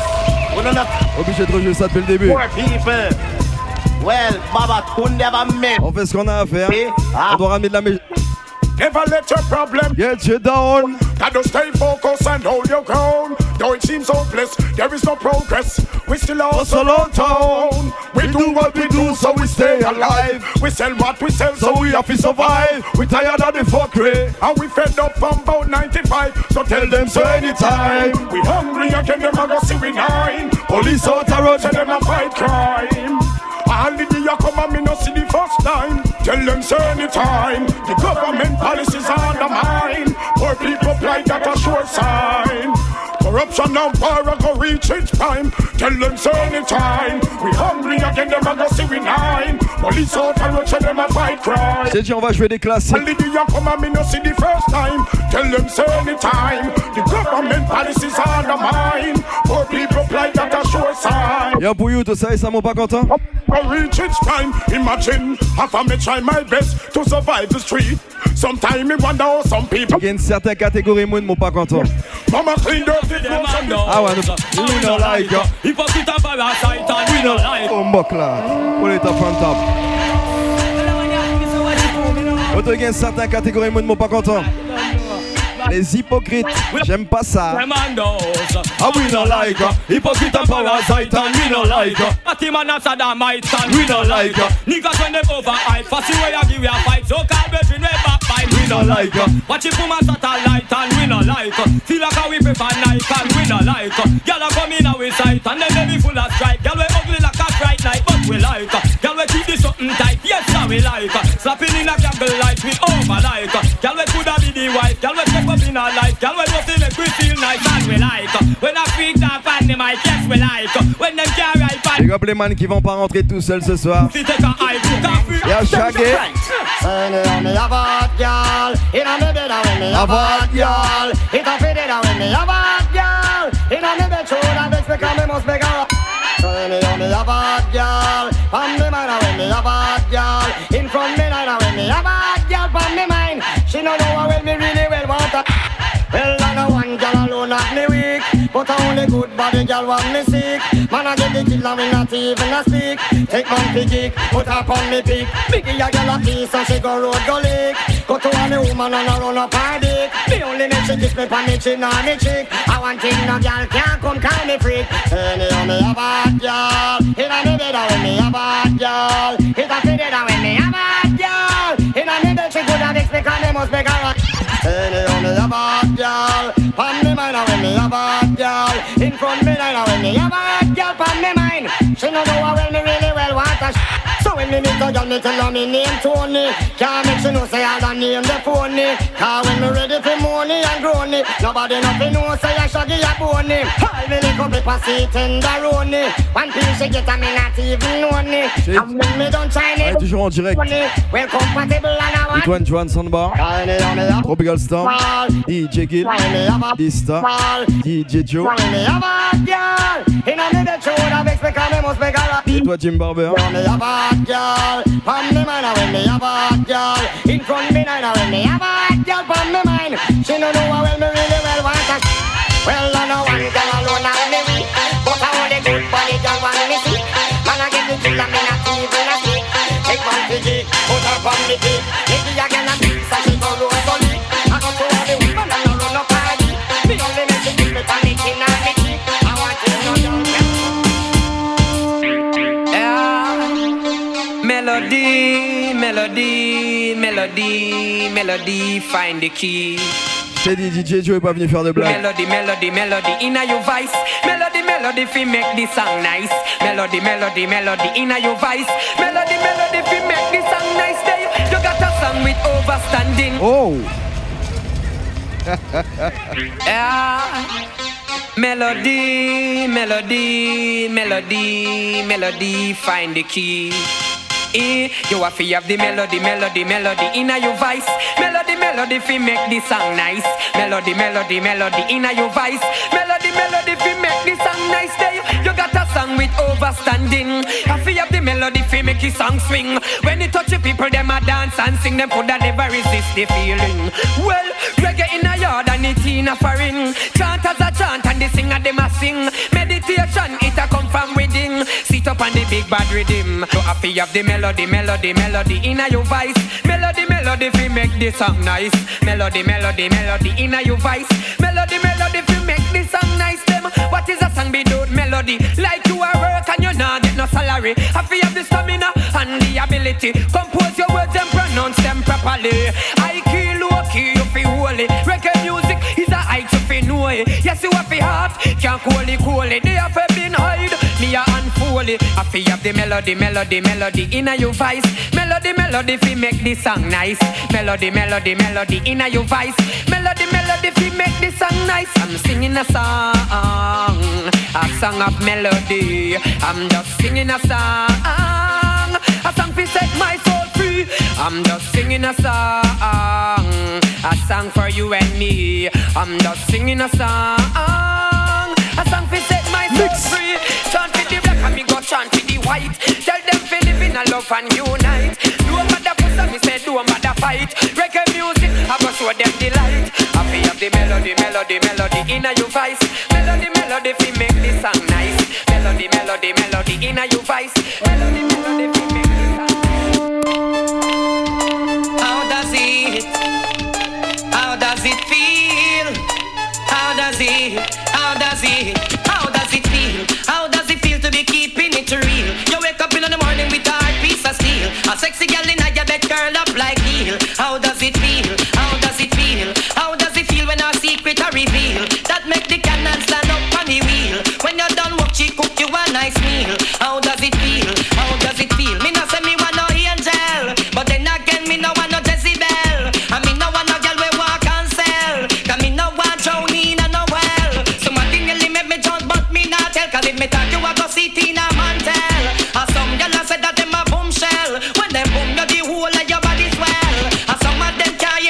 Obligé de rejouer ça depuis le début. Poor people. Well, Baba could never make. On fait ce qu'on a à faire. On doit ramener de la musique. Never let your problem get you down. Gotta stay focused and hold your ground. Though it seems hopeless, there is no progress. We still hustle on town. We do what we do so we stay alive. We sell what we sell so we have to survive. We tired of the fuckery and we fed up from about 95. So tell them so anytime. We hungry again, them a go see we nine. Police out a road, tell them a fight crime. All the day you come and me no see the first time. Tell them so anytime. The government policies undermine. Poor people like that a sure sign. Corruption and power go reach its prime. Tell them so anytime. We hungry again, them a go see we nine. Police out and road, them a fight crime. C'est dit, on va jouer des classiques. All the day you come and me no see the first time. Tell them so anytime. The government policies undermine. Poor people like that a sure sign. Yo pour you, tout ça, ils sont pas contents. Reach its time, imagine half of me try my best to survive the street. Sometimes me wonder how some people. Il y a une certaine catégorie de monde pas content. Mama clean dirty clothes. Ah ouais, we don't like it. Hypocrite and parasite and we don't like it. On buck là, pull it up on top. Autre il y a une certaine catégorie de monde pas content. Les hypocrites, j'aime pas ça. Ah we don't like it. Hypocrite and parasite and we don't like it. Batman and Saddamite and we don't like it. Niggas when them overhype, fussy way I give you a fight. So call between way backbite, we don't like it. Watch it from a satellite and we don't like it. Feel like how we prefer Nike and we don't like it. Girl a come in our sight and then they be full of stripe. Girl we ugly like a bright light but we like it. Girl we keep this something tight, yes now we like it. Slapping in a candle light we over like it. Girl we coulda be the wife, girl we take up in our life. Girl we just make we feel nice and we like it. When I freak down on the mic, yes we like it. When them can't ride back. Les gars les man qui vont pas rentrer tout seuls ce soir. Y'a Shaggy. When me a bad girl, from me mind when me a bad girl. In front me now when me a bad girl, from me mind. She know how well me really well want her. Well, I know one girl alone at me weak, but only good body girl want me sick. Man, I get the kill and me not even a speak. Take man fi geek, put her on me peak. Biggie a girl a piece and she go road go lick. Go to any woman and I run up her dick. Me only make she kiss me pa me chin and me cheek. I want thing no girl can't come call me freak. Anyhow me a bad girl, inna me bed when me a bad girl. It a fit when me a bad girl. Inna me bed she coulda mix me 'cause me must make her. Anyhow me a bad girl, pon me mind when me a bad girl. In front me now when me a bad girl, pon me mind. She no know how well me really well want her. So when me meet a girl, me tell her me name Tony. Can't make she know say I don't name the phony. 'Cause when me ready for money and growny, nobody nothing know say I shaggy a bony. All me lick up me passy tenderoni. One piece she get and me not even know ni. And when me don't try it, toujours en direct. well compatible and I want. Antoine Joan Sandbar, Tropical Storm, DJ Gil, Dista, DJ Joe. Et toi Jim Barber. In front me now when me a bad girl from me mind. She no know how well me really well want her. Well I know one girl alone and me weak, but I want the good body girl want me sick. Man I get the kill and me not even a stick. Take one for geek, put her from me peak. Maybe I get a piece so she go road go lick. I go to all the women and I run up party. Me only make she kiss me from me chin and me cheek. I want to know you. Melody, melody, melody, melody, find the key. J'ai dit DJ Joe est pas venu faire de blagues. Melody, melody, melody, inna your voice. Melody, melody, fi make this song nice. Melody, melody, melody, inna your voice. Melody, melody, fi make this song nice. There you got a song with overstanding. Oh. Yeah. Melody, melody, melody, melody, find the key. You have to have the melody, melody, melody inna your voice. Melody, melody, fi make this song nice. Melody, melody, melody inna your voice. Melody, melody, fi make this song nice. There you got a song with overstanding. Have to have the melody, fi make the song swing. When it touch the people, them a dance and sing. Them coulda never resist the feeling. Well, reggae in a yard and it in a foreign. Chanters a chant and the singer them a sing. Meditation, it a come from within. Sit up on the big bad rhythm. You have to have the melody, melody, melody inna your voice. Melody, melody, fi make this song nice. Melody, melody, melody inna your voice. Melody, melody, fi make this song nice. Them, what is a song without melody? Like you are work and you not get no salary. Have to have the stamina and the ability. Compose your words and pronounce them properly. High key, low key, you feel holy. Reggae music is a height you feel know it. Yes, you have a heart, can't cool it. They have been hide, me a unfold it. Have to have the melody, melody, melody inna your voice. Melody, melody, fi make this song nice. Melody, melody, melody inna your voice. Melody, melody, fi make this song nice. I'm singing a song of melody. I'm just singing a song fi set my soul free. I'm just singing a song for you and me. I'm just singing a song fi set my soul free. Chant for the black and me go chant for the white. Tell them fi live in a love and unite. Do a matter fuss and me say do a matter fight. Reggae music, I go show them the light. I fi have the melody, melody, melody inna your voice. Melody, melody fi make this song nice. Melody, melody, melody inna your voice. Melody, melody fi make this song nice. How does it feel? How does it feel? How does it feel to be keeping it real? You wake up in the morning with a hard piece of steel. A sexy girl in your bed curl up like heel. How does it feel? How does it feel? How does it feel when our secret are revealed? That make the cannon stand up on the wheel. When you're done work, she cook you a nice meal. How does it feel? How does it feel? Me no say me want no angel, but then again me no want no Jezebel. And me no want no girl we walk and sell. 'Cause me no want drown in a no well. Somebody nearly make me jump, but me not tell. 'Cause if me talk you a go see Tina Mantel. And some girl a say that them a bombshell. When them boom you the whole of your body swell. And some of them can't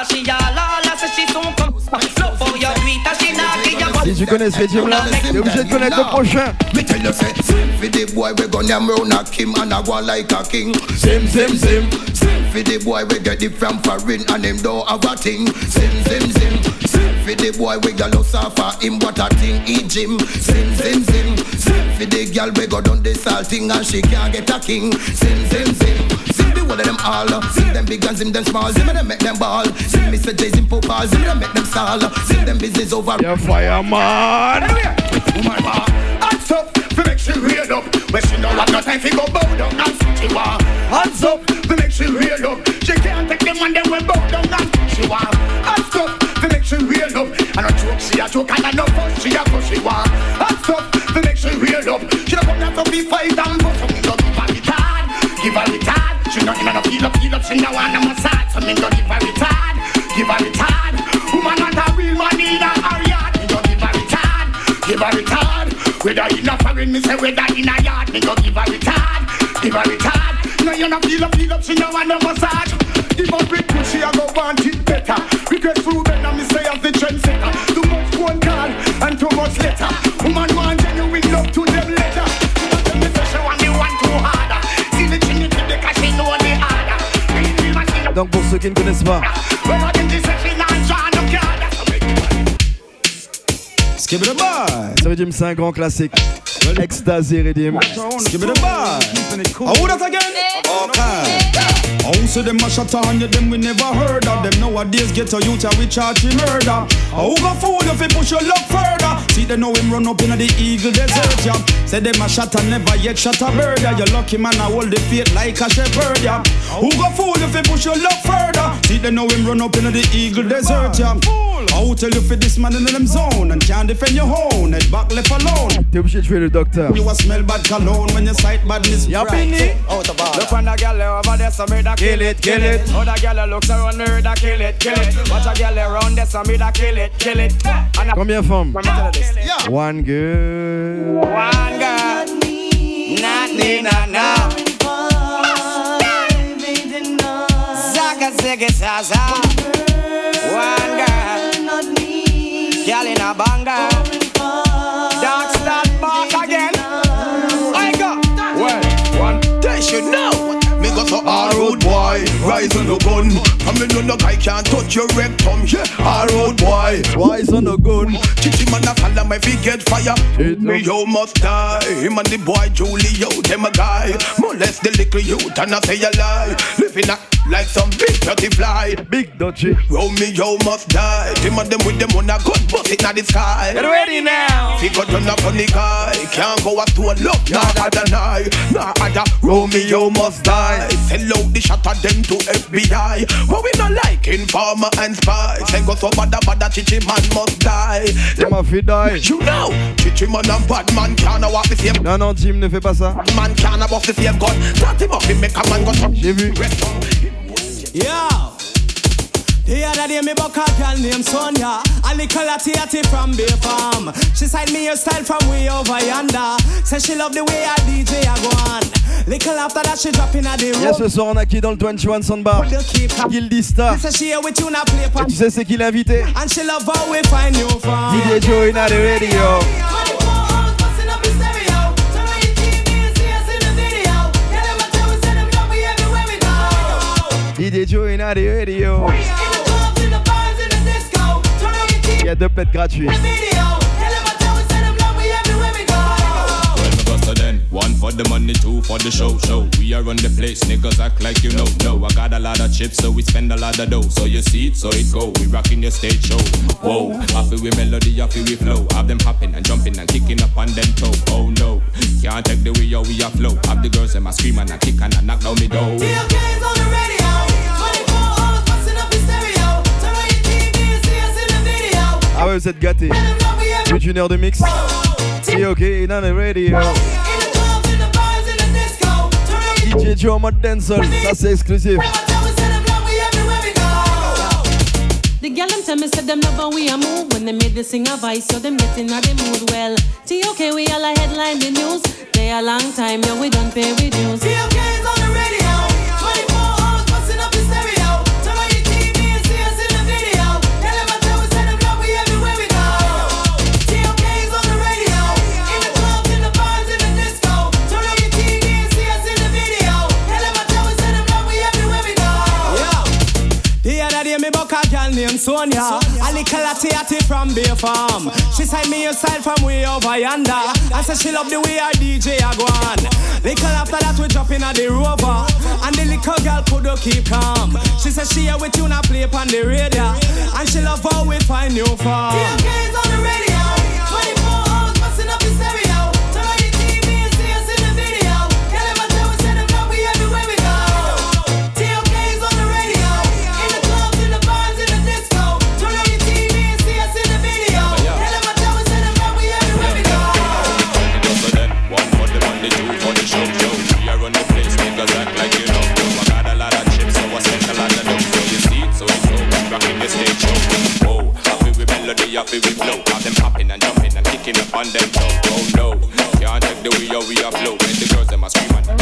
she all so she soon come. Love for your tweet, she not give you. Si tu connais ce rythme là, t'es obligé de connaître le prochain. Me tell you say, same for the boy we gonna round a Kim and a go like a king. Same. Same for the boy we get it from foreign and him don't have a thing. Same for the boy we got lost off of him what a thing he gym. Same for the girl we go down the salting and she can't get a king. Same. See the one of them all. See them big and see them small. See me them make them ball. See me say Jason Popal. See me them make them stall. See them business over. Yeah, fireman. Woman bar, hands up, we make she real up. When she know what no time fi go bow down and she war. Hands up, we make she real up. She can't take them when they will bow down and she war. Hands up, we make she real up. And a joke she a joke and a no fuss she a fuss she war. Hands up, we make she real up. She don't come down to be fight and fuss. So me go give her retard, give her retard. She not in a feel up, she no want a massage. So me go give her retard, give her retard. Woman want a real man in her yard. Me go give her retard, give her retard. Whether in a foreign, me say whether in a yard. Me go give her retard, give her retard. No you no feel up, she no want no massage. Give her big push, she a go want it better. Request through better, me say as the trendsetter. Too much phone call and too much letter. Woman want genuine love to them later. Me say she want me one too harder. See the trinity because she know the harder. Donc pour ceux qui ne connaissent pas, Skip it boy. ce rythme c'est un grand classique. Ecstasy Rhythm. Skip it boy. Who that again? Okay. Who say them a shot on you, them we never heard of. Them nowadays get a youth and we charge him murder. Who go fool if he push your luck further? See they know him run up in the Eagle Desert, yeah. Say them a shot and never yet shot a bird, yeah. You lucky man I hold the faith like a shepherd, yeah. Who go fool if he push your luck further? See they know him run up in the Eagle Desert, yeah. I'll tell you for this man in them zone and can't defend your own, head back left alone. T'es obligé de jouer le docteur. You a smell bad cologne when you sight badness. Y'a fini. Look on the girl over there, so me da kill it. Other girl looks around me, da kill it. Watch a girl around there, so me da kill it. Combien de femmes? One girl. One girl. Not me, no. Zaga ziggy zaza. One girl. Not me. Girl in a banger. Dark start back again. I go. Well, one they should know. Me go so hard road boy, rise on the gun. I mean no guy can't touch your rectum. Yeah, hard road boy, rise on the gun. Chichi man a follow me fi get fire. Me you must die. Him and the boy Julio, them a guy. Molest the little youth and I say a lie. Living a like some big dirty fly. Big dodgy. Romeo must die. Them and them with them on a gun, bust it in the sky. Get ready now. He got on a funny guy. Can't go up to a love, nah other night. Nah other Romeo must die. Sell out the shot of them to FBI. But we not like informer and spy. Say go so bad Chichi man must die. Them a fi die. You know, Chichi man and bad man can't walk the same. Non, Jim, ne fais pas ça. Man can't walk the same gun. Start him up, he make a man go so. J'ai vu. Yo, the other day me buck a girl named Sonia, a little latty from Bay Farm. She signed me her style from way over yonder. Say she love the way a DJ a go on. Little after that she drop in a the room. Yes, ce soir on a qui dans le 21 Soundbar? Gildista. Et tu sais c'est qui l'invité? And she love how we find you from. DJ Joe in the radio. DJ Joe in the radio. Il y a 2 plates gratuits. One for the money, 2 for the show. We are on the place, niggas act like you know. No, I got a lot of chips, so we spend a lot of dough. So you see it, so it go. We rocking your stage show. Whoa, happy with melody, happy with flow. Have them hopping and jumping and kicking up on them toe. Oh no, can't take the way how we are flow. Have the girls them a scream and a kick and a knock down the door. TLK's on the radio. 24 hours busting up the stereo. Turn on your TV and see us in the video. Ah ouais, vous êtes gâtés. Plus d'une heure de mix. C'est ok, in the radio. DJ Joe en mode dancehall, ça c'est exclusif. The girl them tell me said them love how we a move when they made the sing a vice, so them getting out the mood. Well, TOK we all a headline the news. They a long time, yeah we don't pay with dues. TOK's on the radio, 24 hours busting up the stereo. Turn on your TV and see us in the other day me buck a girl named Sonia. A little latty from Bay Farm. She signed me a style from way over yonder. And said she love the way our DJ a go on. Little after that we drop in at the Rover. And the little girl couldn't keep calm. She said she here with you now play on the radio. And she love how we find new form. TMK's on the radio. 24 hours busting up the stereo. Turn on your TV and see us in the video. Get them a tell we send them up, we everywhere we go. TMK's on the radio. In the clubs, in the bars, in the disco. Turn on your TV and see us in the video. Get them a tell we send them up, we everywhere we go. So then, one for the money, two for the show. We are on the place, niggas act like you know. I got a lot of chips, so I spent a lot of dough. So you see it, so it's so rocking the stage show. Whoa, happy with melody, happy with flow. Have them popping and jumping and kicking up on them toes. Oh no, can't take the way we are flow. Make the girls them a scream and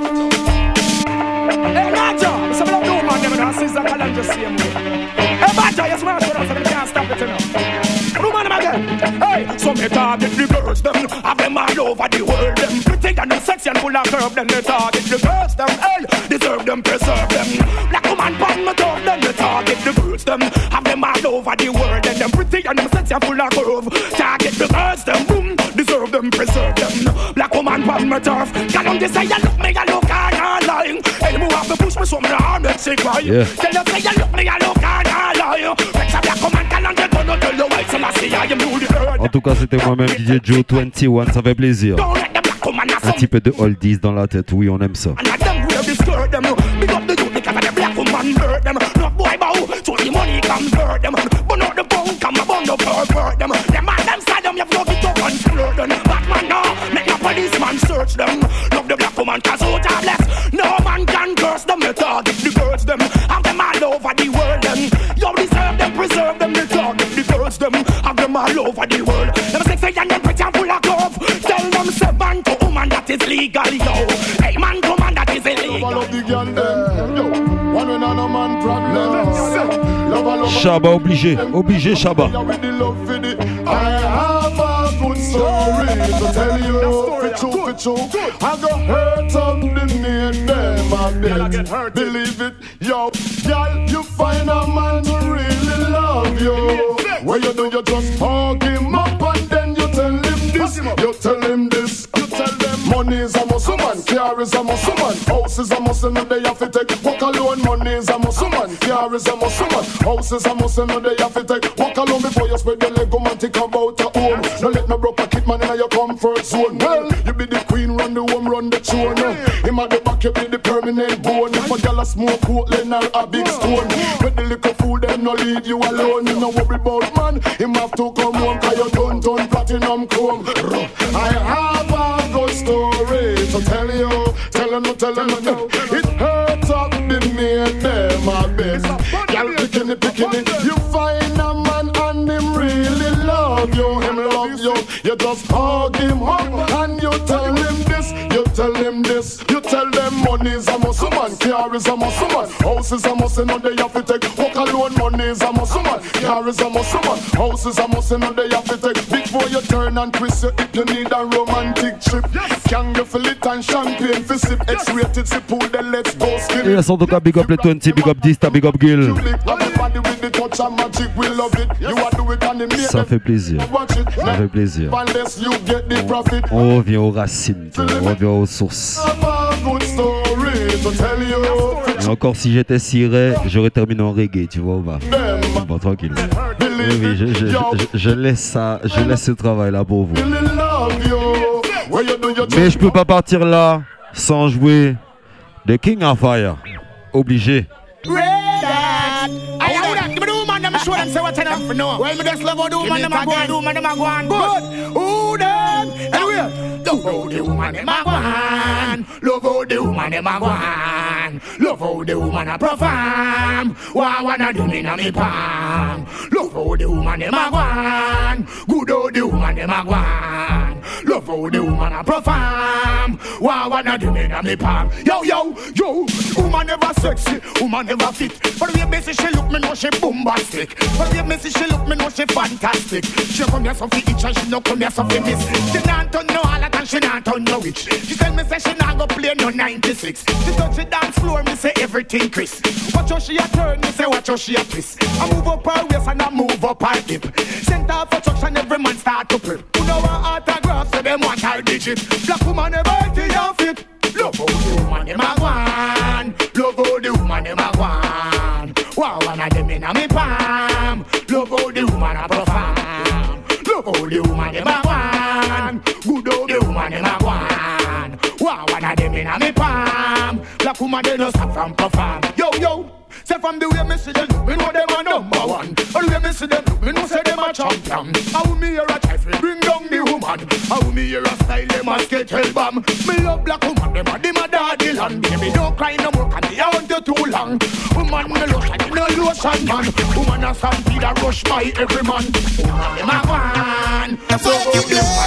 Hey, Naja, it's a blood woman, them and Caesar Callan just same way. Hey, Baja, you smash with us and you can't stop it, you know. Woman, them again. Hey, so me target the girls, them. Have them all over the world, them. Pretty and them sexy and full of curve, then they target the girls, them. Hey, deserve them, preserve them. Black woman, pan me tough, then they target the girls, them. Have them all over the world, then them. Pretty and them sexy and full of curve. Target the girls, them. Boom, deserve them, preserve them. Black woman, pan me tough. Can on this say you look me, you look, I'm not lying. Hey, move have to push me some down, make she cry. Yeah. Tell you say you look me, you look, I'm not lying. Rex a black woman, can on get on, tell you why, so I see I am newly heard. En tout cas, c'était moi-même DJ Joe 21, ça fait plaisir. Un petit peu de oldies dans la tête, oui, on aime ça. And them wear the skirt, them big up the youth because of the black woman bird them. No boy bow, so the money convert them. But not the bone, come a bun the pervert them. Them man, them side them, you have to get up and flirt them. Batman now, make a policeman search them. Love the black woman cause out of less. No man can curse them, they target the girls them. Have them all over the world them. You deserve them, preserve them, they target the girls them. Have them all over the world. Them sexy and them pretty and full of curve. Tell them seven to woman that is legal, yo. Hey man, woman that is illegal. Love the girl them, yo. One when no man problem. Shabba obligé, obligé Shabba. I have a good story to tell you. For true. I got hurt up the name them I bet. Believe it, yo. Girl, you find a man who really love you. What you do, you just hug him up and then you tell him this. You tell him this. You tell them money is a muscle man, car is a muscle man, house is a muscle man. They have to take walk alone. Money is a muscle man, car is a muscle man, house is a muscle man. They have to take walk alone before you spread your leg. Go and think about a home. Don't let no broke pocket man in your comfort zone. Well, you be the queen, run the home, run the throne. Him at the back, you be the permanent bone. If a girl a smoke Portland or a big stone, with the little food, them no leave you alone. You no worry about man, him have to come home. Cause you done platinum chrome. I have a good story to tell you. Tell him, no. It hurts up the main them a best. Girl picking it. You find a man and him really love you. Him love you. You just hug him up and you tell him this. You tell him this. You tell them money is a muscle man, car is a muscle man, house is a muscle. Now they have to take walk alone. Money is a muscle man, car is a muscle man, house is a muscle. Now they have to take before you turn and twist your hip. You need a romantic trip. Can you feel it and champagne for sip? X-rated si pool, then let's go skin. Et là, en tout cas, big up les 20, big up Dista, big up Gil. Ça fait plaisir. Ça fait plaisir. On revient aux racines, on revient aux sources. Et encore, si j'étais ciré, j'aurais terminé en reggae, tu vois, bon, tranquille. Oui, je laisse ça, je laisse ce travail-là pour vous. Mais je peux pas partir là sans jouer The King of Fire. Obligé. Show them say what them for no. Well, me just love how the woman them a go on, good. Who them? Anyway, love how the woman them a go on. Love how the woman them a go on. Love how the woman a perform. What wanna do me na me palm. Love how the woman them a go on. Good how the woman them a go on. Love how the woman a perform. Wow, wanna do me na me palm. Yo, yo, yo. Woman never sexy, woman never fit. But the way me see she look, me know she bombastic. But the way me see she look, me know she fantastic. She come here so fi itch and she no come here so fi miss. She not turn no harlot and she not turn no witch. She tell me say she not go play no 96. She touch the dance floor, me say everything Chris. Watch how she a turn, me say watch how she a twist. I move up her waist and I move up her hip. Center of attraction, every man start to prep. You know her autograph, so them want her digit. Black woman never fit your fit. Love how the woman dem a gwan. Love how the woman dem a gwan. Wow, one of them inna me palm. Love how the woman a perform. Love how the woman dem a gwan. Good how the woman dem a gwan. Wow, one of them inna me palm. Black woman they no stop from perform. Yo yo. Say from the way me see them, me know them a number one. And the way me see them, me know say them a champion. How me hear a try fi bring down the woman. How me hear a style them a skate hell bomb. Me love black woman, them a daddy land. Baby don't cry no more, 'cause they want you too long. Woman me lotion, you no lotion man. Woman a stampede a rush by every man. Woman them a one. Fuck you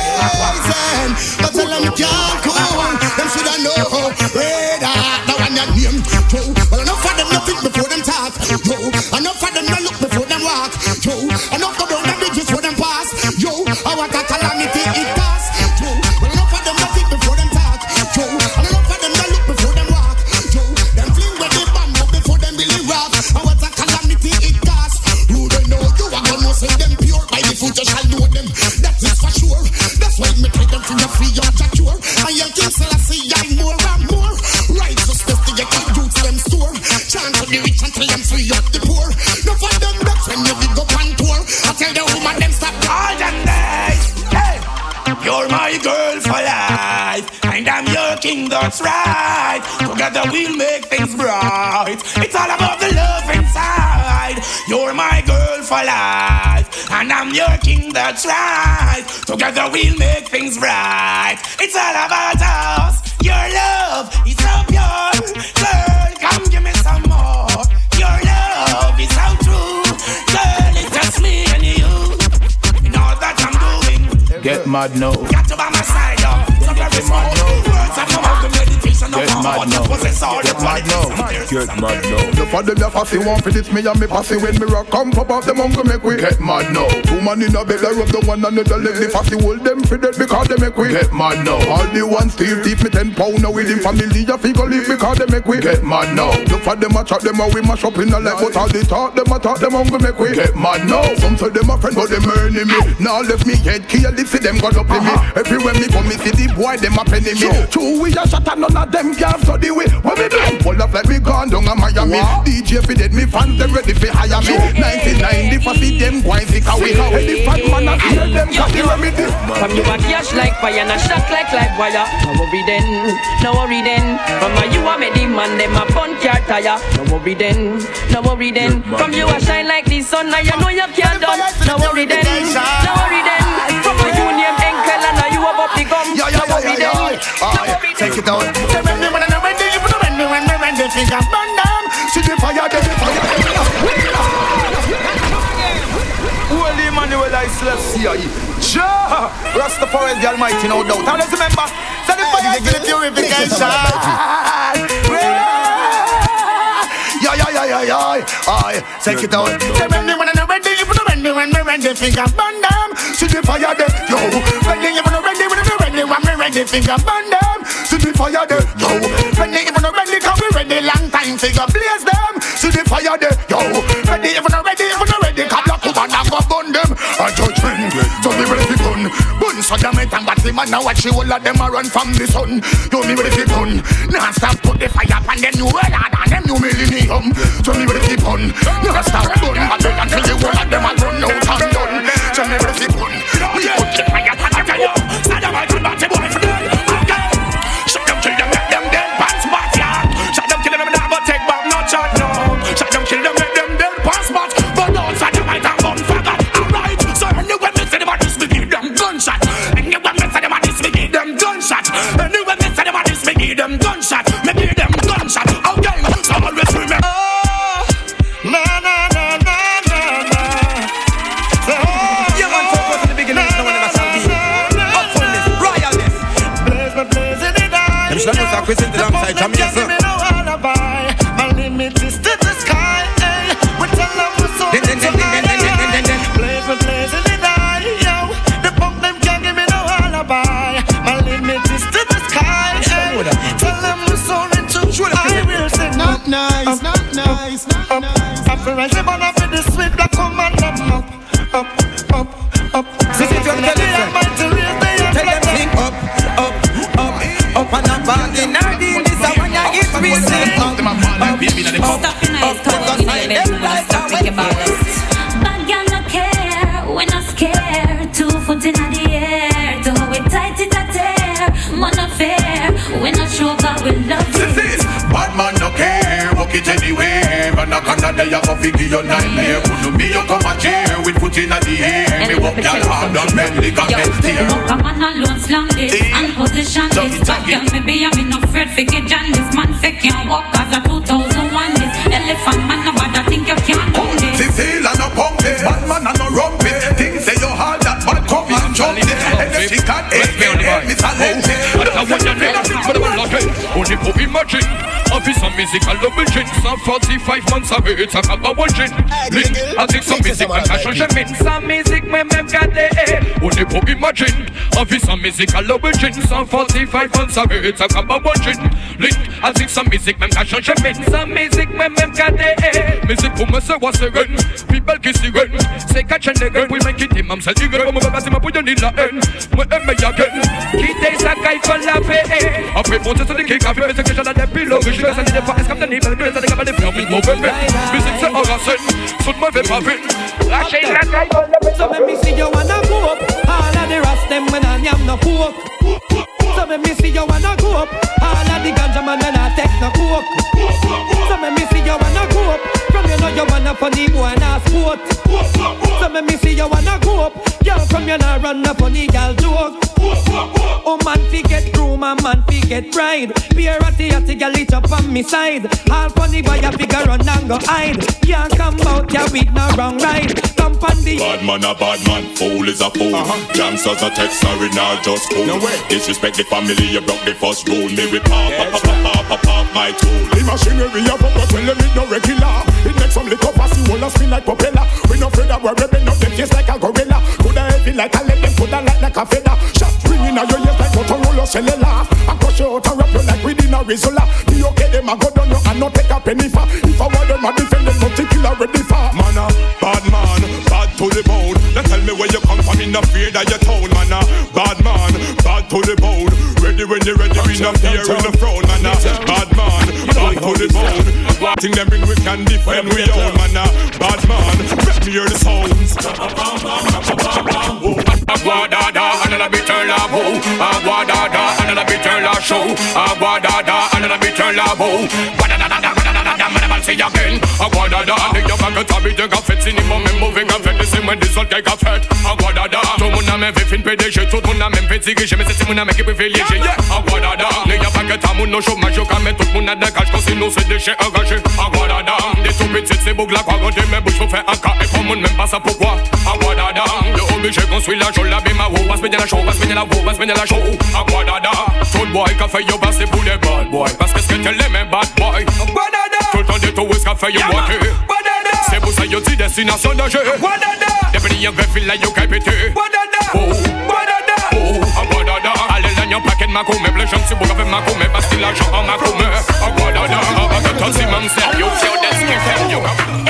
blazing, but tell them can't come. Them shoulda know. Red heart, now one your name. Well enough of them no think before them talk. Yo, enough of them no look before them walk. Yo, enough go down the bridges before them pass. Yo, I want a calamity it pass. Yo, well enough of them no think before them talk. Yo, enough of them no look before them walk. Yo, them fling with the bomb up before them really rock. I want a calamity it pass. Who don't know you are gonna say them pure by the foot you shall know them. That is for sure. That's why me take them from your free your secure. And your king Selassie I more and more. Righteousness to get the youths them store. Chant to the rich until them free up the poor. No for them that's when you big up on tour. I tell the woman them stop all them days. Hey, you're my girl for life, and I'm your king, that's right. Together we'll make things bright. It's all about the love inside. You're my girl for life, and I'm your king, that's right. Together we'll make things right. It's all about us. Your love is so pure. Girl, come give me some more. Your love is so true. Girl, it's just me and you. You know that I'm doing. Get mad now. Got to by my side, up. Get mad now. Words of my meditation. Get mad now. Get mad now. Get mad now. The father the fussy want for this me and me passy. When me rock come pop out them hungry make we get mad now. Two man in a bed I rub the one another leg. The fussy hold them for dead because they make we get mad now. All the ones still teeth me 10 pound now with him family a figure leave because they make we get mad now. The for them a chat them a we mash up in a leg. But all the talk them hungry make we get mad now. Some say them a friend but them earning me. Now left me head kill if see them got up in me. Everywhere me come me see the boy them a penny me. True we a shot and none of them can't study we. When we blind pull up like we gone down a Miami. DJ fi dead me fans them ready fi hire me. 1990 for see them boys sick away. The fat man a hear them got the remedy. From you a cash like fire and a shot like live wire. No worry then, no worry then. From you a made the man them a fun car tire. No worry then, no worry then. From you a shine like the sun and you know you can't done. No worry then, no worry then. From a you name Enkel and now you have up the gum. No worry then, no worry then. Take it out. When me ready, finger burn down. See the fire, the fire. Holy Emmanuel I Selassie. Jah Rastafari is the Almighty, no doubt. And let's remember, say the fire is the purification. Take it out. When me ready, finger burn down. See the fire, the yo. When me ready, finger burn down. See the fire, the yo. When they even ready, cause we ready long time. Figure blaze them. See the fire, the yo. Ready, even ready, cause black woman a go burn them. A judgment, so me ready to gun. Bun so damn it and batty man now watch you all of them a run from the sun. You me ready to gun. Now stop put the fire upon them new world and them new millennium. So me ready to gun. Now stop gun, but then until the whole of them a run out and done. So me ready to gun. We put the fire upon the fire. Stand up and batty boy for them. Shut them, kill them, make them dead pants back, yeah. Shut them, kill them, not go take back no shot, no. Shut them, kill them, make them dead pants back. But no, shut them, I can't gun faggot. Alright, so anyway, me say them a this, me give them gunshot. Anyway, me say them a this, me give them gunshot. Anyway, me say them a this, me give them gunshot. Me give them gunshot. Okay, so always remember. Na na na na. represent alongside Jamaica. Give me no alibi. My limit is to the sky. We tell them we're so blaze with blaze in the eye. Yo, the punk them can't give me no alibi. My limit is to the sky. Tell them we're so into. I will say not nice, not nice, not nice. I feel like they're gonna be the sweet black command them up. See, you tell them think up and up and in our deal. This is when you get reason. Bad girl no care, we not scared. 2 foot in the air, to how we tight it a tear. Man affair, we not sure but we love it. Bad man no care, walk it anywhere. But no Canada you go figure your nightmare. Could me you come a chair with foot in the air. Me walk y'all hard on belly got best here. Walk a man alone slam this and position this. Bad girl maybe I'm not afraid for get John. This man fake can't walk as a 2001 this. Elephant man no bad I think you can't do this. Cecile and no punk it, bad man and no rump it. Things say you hard that bad come and jump it. Energy can't help me silence it. I want you to but I will not wait. Only for imagine. Officer musical double gin. Some 45 months away, it's a couple of gin. I think some music and I change them in. Some music me got the only for imagine. Officer musical double gin. Some 45 months away, it's a couple of gin. I think some music me got change them in. Some music me got the music for me say what's the gun. People kiss the gun. Say catch and the gun. We make it him. I'm selling gun. I'm about to put you in the end. Me again. Kid is a guy for la paix. I pray for to the cake. I feel the question of the pillow. And the fast come the neighbor, the girls and the government, the film is moving. Music say all I said, so my vape have it. So let me see you wanna go up. All of the rest them when I am no coke. So let me see you wanna go up. All of the ganja man when I take no coke. So let me see you wanna go up. From you know you wanna funny boy and a sport. So let me see you wanna go up. Girl from you know run a funny girl joke. Oh man fi get groom and man fi get bride. Be a ratty girl it up on me side. All funny boy a figure run and go hide. Can't come out ya with no wrong ride. Come on the bad man a bad man, fool is a fool. Gangsters a text sorry now just cool. No disrespect the family, you broke the first rule. Me with pop my tool. The machinery of up but tell them it no regular. It makes some lick up as you wanna spin like propeller. We no afraid that we're ripping up them face like a gorilla. Coulda heavy like a lead, them coulda like a feather. Shots ringing out your ears like Motorola cellular. I crush you out and wrap you like within a Rizola. Be okay, them a go down you and not take a penny for. If I want them a defend them, not to kill already for. Man a bad man, bad to the bone. Now tell me where you come from, in the fear that you town. Man a bad man, bad to the bone. Ready when you're ready, we not fear in the throne. Man a bad man, bad to the bone. Thing them bring we can defend we own. Man a bad man, let me hear the sounds. Aguadada, another bitter labo. Aguadada, another bitter la show. Aguadada, another bitter labo. Say again, Aguadada, the young man got a bit of fête, c'est mon même mauvais café, mais c'est moi des autres qui a fait. Aguadada, tout le monde a même fait une PDG, tout le monde a même fait tirer, mais c'est mon ami qui privilégié. Aguadada, les gars pas que t'as mon chômage, quand même tout le monde a des cash, quand sinon c'est des déchets engagés. Aguadada, des tout petites, c'est beau que la quoi, quand t'es mes bouches, faut faire un cas, et pour le monde même pas ça pourquoi. Aguadada, le obligé construit la jolie, la bima, passe bien la show, passe bien la show, passe bien la show. Aguadada, tout le boy qui a fait yo passer pour les bad boys, parce que c'est que t'es les mêmes bad boys. Aguadada, tout le temps de tout, est-ce qu'a fait yo walker? C'est pour ça yo dit destination danger. Depuis y'a fait fil là yo qu'à péter. Oh, Aguadada, allez là y'a un paquet de ma commère. Les gens c'est pour faire ma commère parce que l'argent en ma commère. Aguadada, avec toi si même c'est yo qui a des skins yo.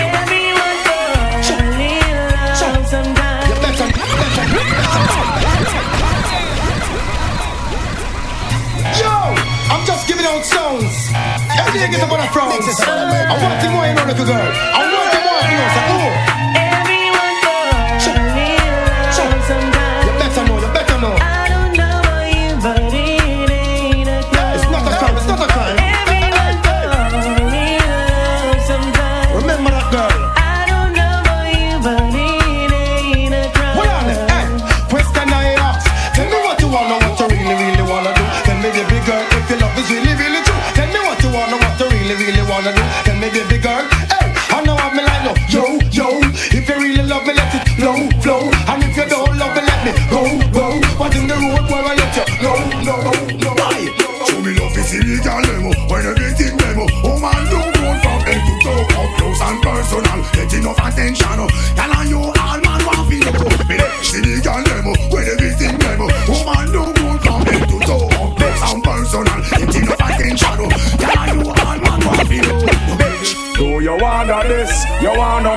Yo, I'm just giving out songs. Every day get up on a front. I want to more, you know, little girl. I want to more, you know, so Everyone goes sometimes. You better know, you better know. I don't know about you, but it ain't a crime. It's not a crime, it's not a crime. Everyone goes sometimes. Remember that girl. I don't know about you, but it ain't a crime. What on it? Hey, question I ask. Tell me what you wanna, what you really wanna do. Tell me the big girl if your love is really true. Tell me what you wanna, what you really wanna do. Tell me the big girl. Hey, I know I'm like no. Yo, if you really love me, let it flow. And if you don't love me, let me go. What in the road where I let you? No. Why? Show me love is illegal.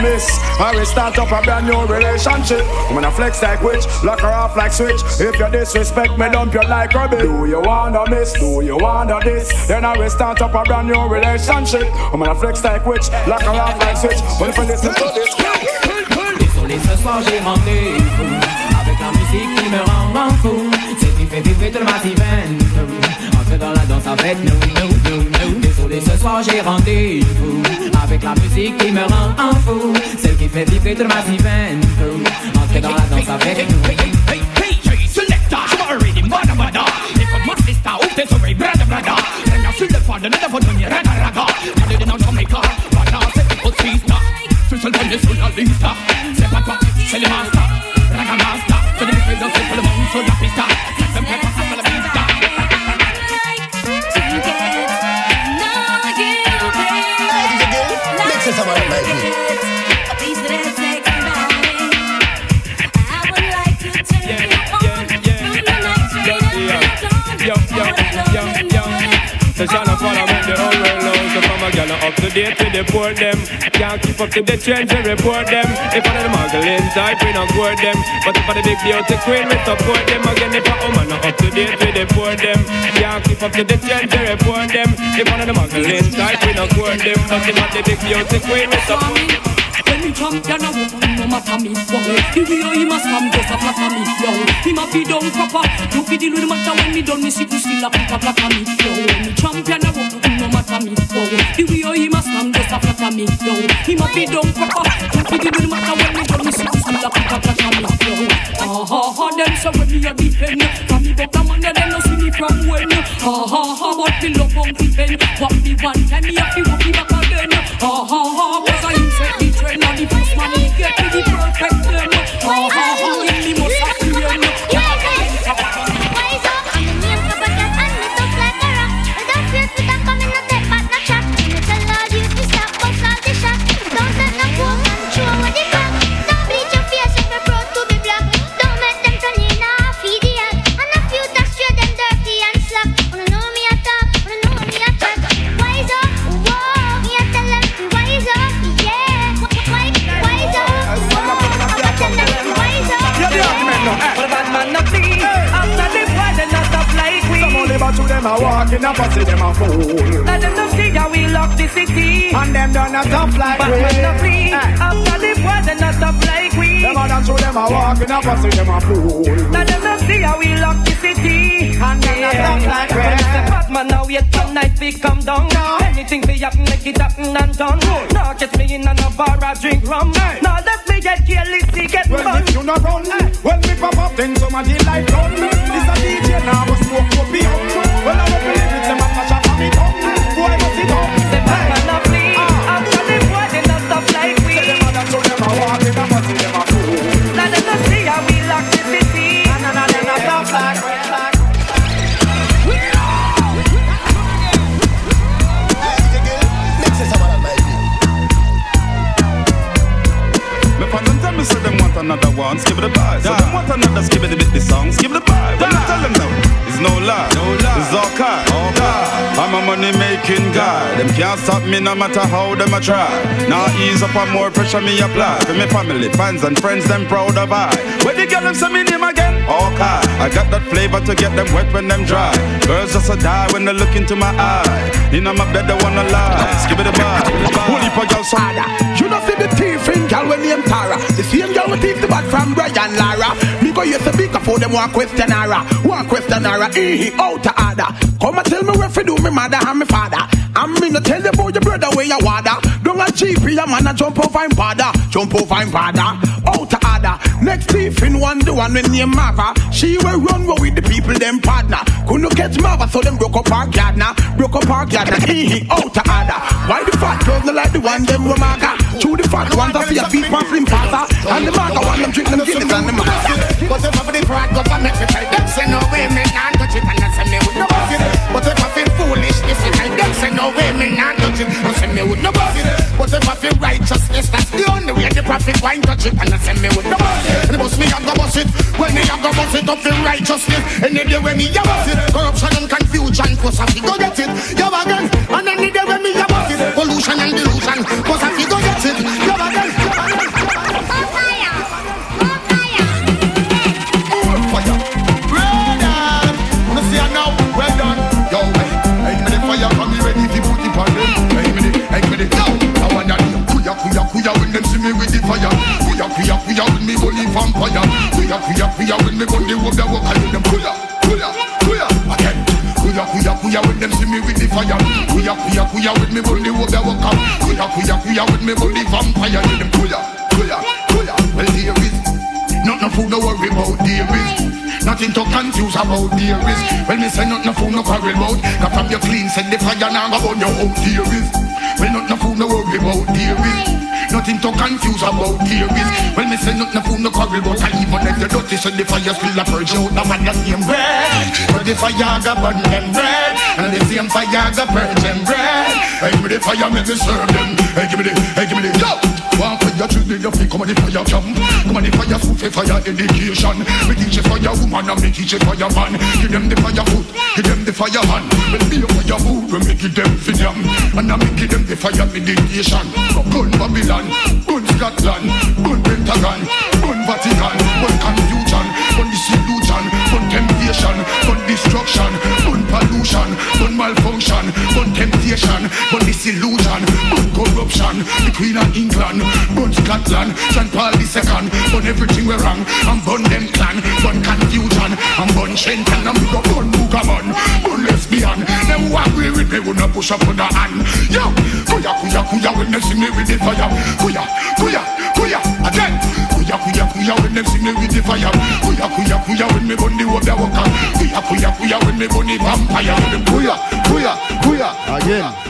this. I will start up a brand new relationship. I'm gonna flex like witch, lock her off like switch. If you disrespect me, dump you like rubbish. Do you wanna miss? Do you wanna this? Then I will start up a brand new relationship. I'm gonna flex like witch, lock her off like switch. But if you listen to this, désolé ce soir j'ai rendez-vous avec la musique qui me rend fou. C'est qui fait vibrer tout le massivent. Entre dans la danse avec nous. Désolé ce soir j'ai rendez-vous avec la musique qui me rend fou. Celle qui fait vibrer tout le massivent. Entre dans la danse avec nous. Hey, selector, already mada mada. If a must sister, off this away, brother. Then I feel the father, never for doing raga raga. I did it on Jamaica, but now c'est pour sister. Social bonne sur la liste. C'est pas toi, c'est le master. Raga master, c'est le président, c'est pour le monde sur la piste. C'est pas toi, c'est la piste. Mix it some of my So shall I follow with the whole world now. So from a gal up to date with the poor them. Can't keep up to the trends and report them. If one of the muggling type we not court them. But if one of the big beauty queen we support them. Again if a woman not up to date with the poor them. Can't keep up to the trends and report them. If one of the muggling type we not court them. But if one of the big beauty queen we support them. When we champion a woman, no matter me, wow. The way he must come just a flatter me, yo. He must be down proper. You fi deal with the matter when me done, me see you still a pick a flatter me, yo. When we champion a woman, no matter me, wow. The way he must come just a flatter me, yo. He must be down proper. You fi deal with the matter when me done, me see you still a pick a flatter me, yo. Them so when me a defend, from me but a man they no see me from when. But me love Uncle Ben. What me one time me a fi walk me back again. Cause I insect the trend. Now the first man he get me the perfect them. In me must have to end. Wise up, I'm the name for but that and me tough like a rock. Without fear for them coming no take back no chat. Me tell all you to stop box all the shot. Don't let no fool control what they got. Don't bleach your face if you're proud to be black. Don't make them turn in a feed the act. And a few that straight them dirty and slack. Wanna know me a talk, wanna know me a chat. Wise up, whoa, me a tell them to wise up, yeah. To them a walk in a pussy, them a fool. Let them know see how we lock the city. And them done a tough like we. But when flee, after the war they not tough like we. Them a done to them a walk in a pussy, them a fool. Let them know see how we lock the city. And them not tough like we. Batman now wait for night we come down. Anything we happen make it happen and done. Now catch me in a bar I drink rum. Now let me get careless to get fun. Well if you not run, when we pop up then somebody like run. This a DJ now we smoke up beyond. Well, I don't believe it's a man for shot on me tongue. Boy, what's it up? The Batman of me. After the boy, they not stop like we. Say them and show them a walk in a pussy, them a fool. Let them not see how we lock the city. And them not stop like we. Me say them want another one, skip the vibe. So them want another, skip it a bit the song, skip the vibe. When I tell them now, it's no lie, it's all kind. I'm a money making guy. Them can't stop me no matter how them a try. Now ease up and more pressure me apply. For me family, fans and friends, them proud of I. When they get them say me name again, okay. I got that flavor to get them wet when them dry. Girls just a die when they look into my eye. In my bed they wanna lie, skip it a vibe. Holy for y'all so. You know see the thief in girl when name Tara. The same girl will take the bag from Brian Lara. Me go use the bigger for them one question her. Out to order. Come and tell me where to do me mother and me father. I'm me no tell you about your brother where you water. Don't a GP a man a jump over him father. Jump over him father. Out to order. Next thief in one the one with name Mava. She will run with the people them partner. Couldn't catch Mava so them broke up our gardener. Broke up our gardener. Out to order. Why the fat girls not like the one them were maga? Chew the fat ones that see a feet past slim faster. And the maga one them drink them Guinness and the maga. But if I for the pride go for me to tell them say no way me not touch it and I say me would no bust it. But if I feel foolish if I tell them say no way me not touch it I say me would no bust it. But if I feel righteousness that's the only way the prophet wine touch it and I say me would no bust it. And the boss me a go bust it. When me a go bust it up feel righteousness. Any day when me a bust it. Corruption and confusion cause I fi go get it. Yo again. And any day when me a bust it. Pollution and delusion cause I fi go get it. Yo again. kuya when me bully vampire. Kuya when me gun the work that work and them kuya again. Kuya when them see me with the fire. Kuya when me gun the work that work and kuya when me bully vampire. Them kuya. Well there is nothing fool no worry about there is. Nothing to confuse about there is. Well me say nothing fool no quarrel about. Cause from your clean set the fire now go burn your out there is. Well nothing fool no worry about there is. Nothing to confuse about there is. Well me say nothing fool no quarrel about. And even if the dirty set the fire still a purge out. The man the same bread. But the fire go burn them bread. And the same fire go purge them bread. Hey give me the fire make me serve them. Hey give me the yo. One fire children you feel come on the fire jump. Come on the fire food for fire education. Me teach you fire woman and me teach you fire man. Give them the fire food, give them the fire man. When be a fire food, we make it them for them. And I make it them the fire meditation. Gun Babylon, gun Scotland, gun Pentagon, gun Vatican, gun confusion, gun disillusion, gun temptation, gun destruction, gun pollution, gun malfunction, gun temptation, gun disillusion, gun corruption. The Queen of England, gun Scotland, St. Paul II, gun everything we wrong, and gun them clan, gun confusion, and gun Shenton, and we go gun Bugaman, gun lesbian. Them walk away with me, we no push up on the hand. Yo, kuya when they see me with the fire. Kuya again. Kuya when they see me with the fire. Kuya when me burn the water walker. Kuya when me burn the vampire. Kuya again.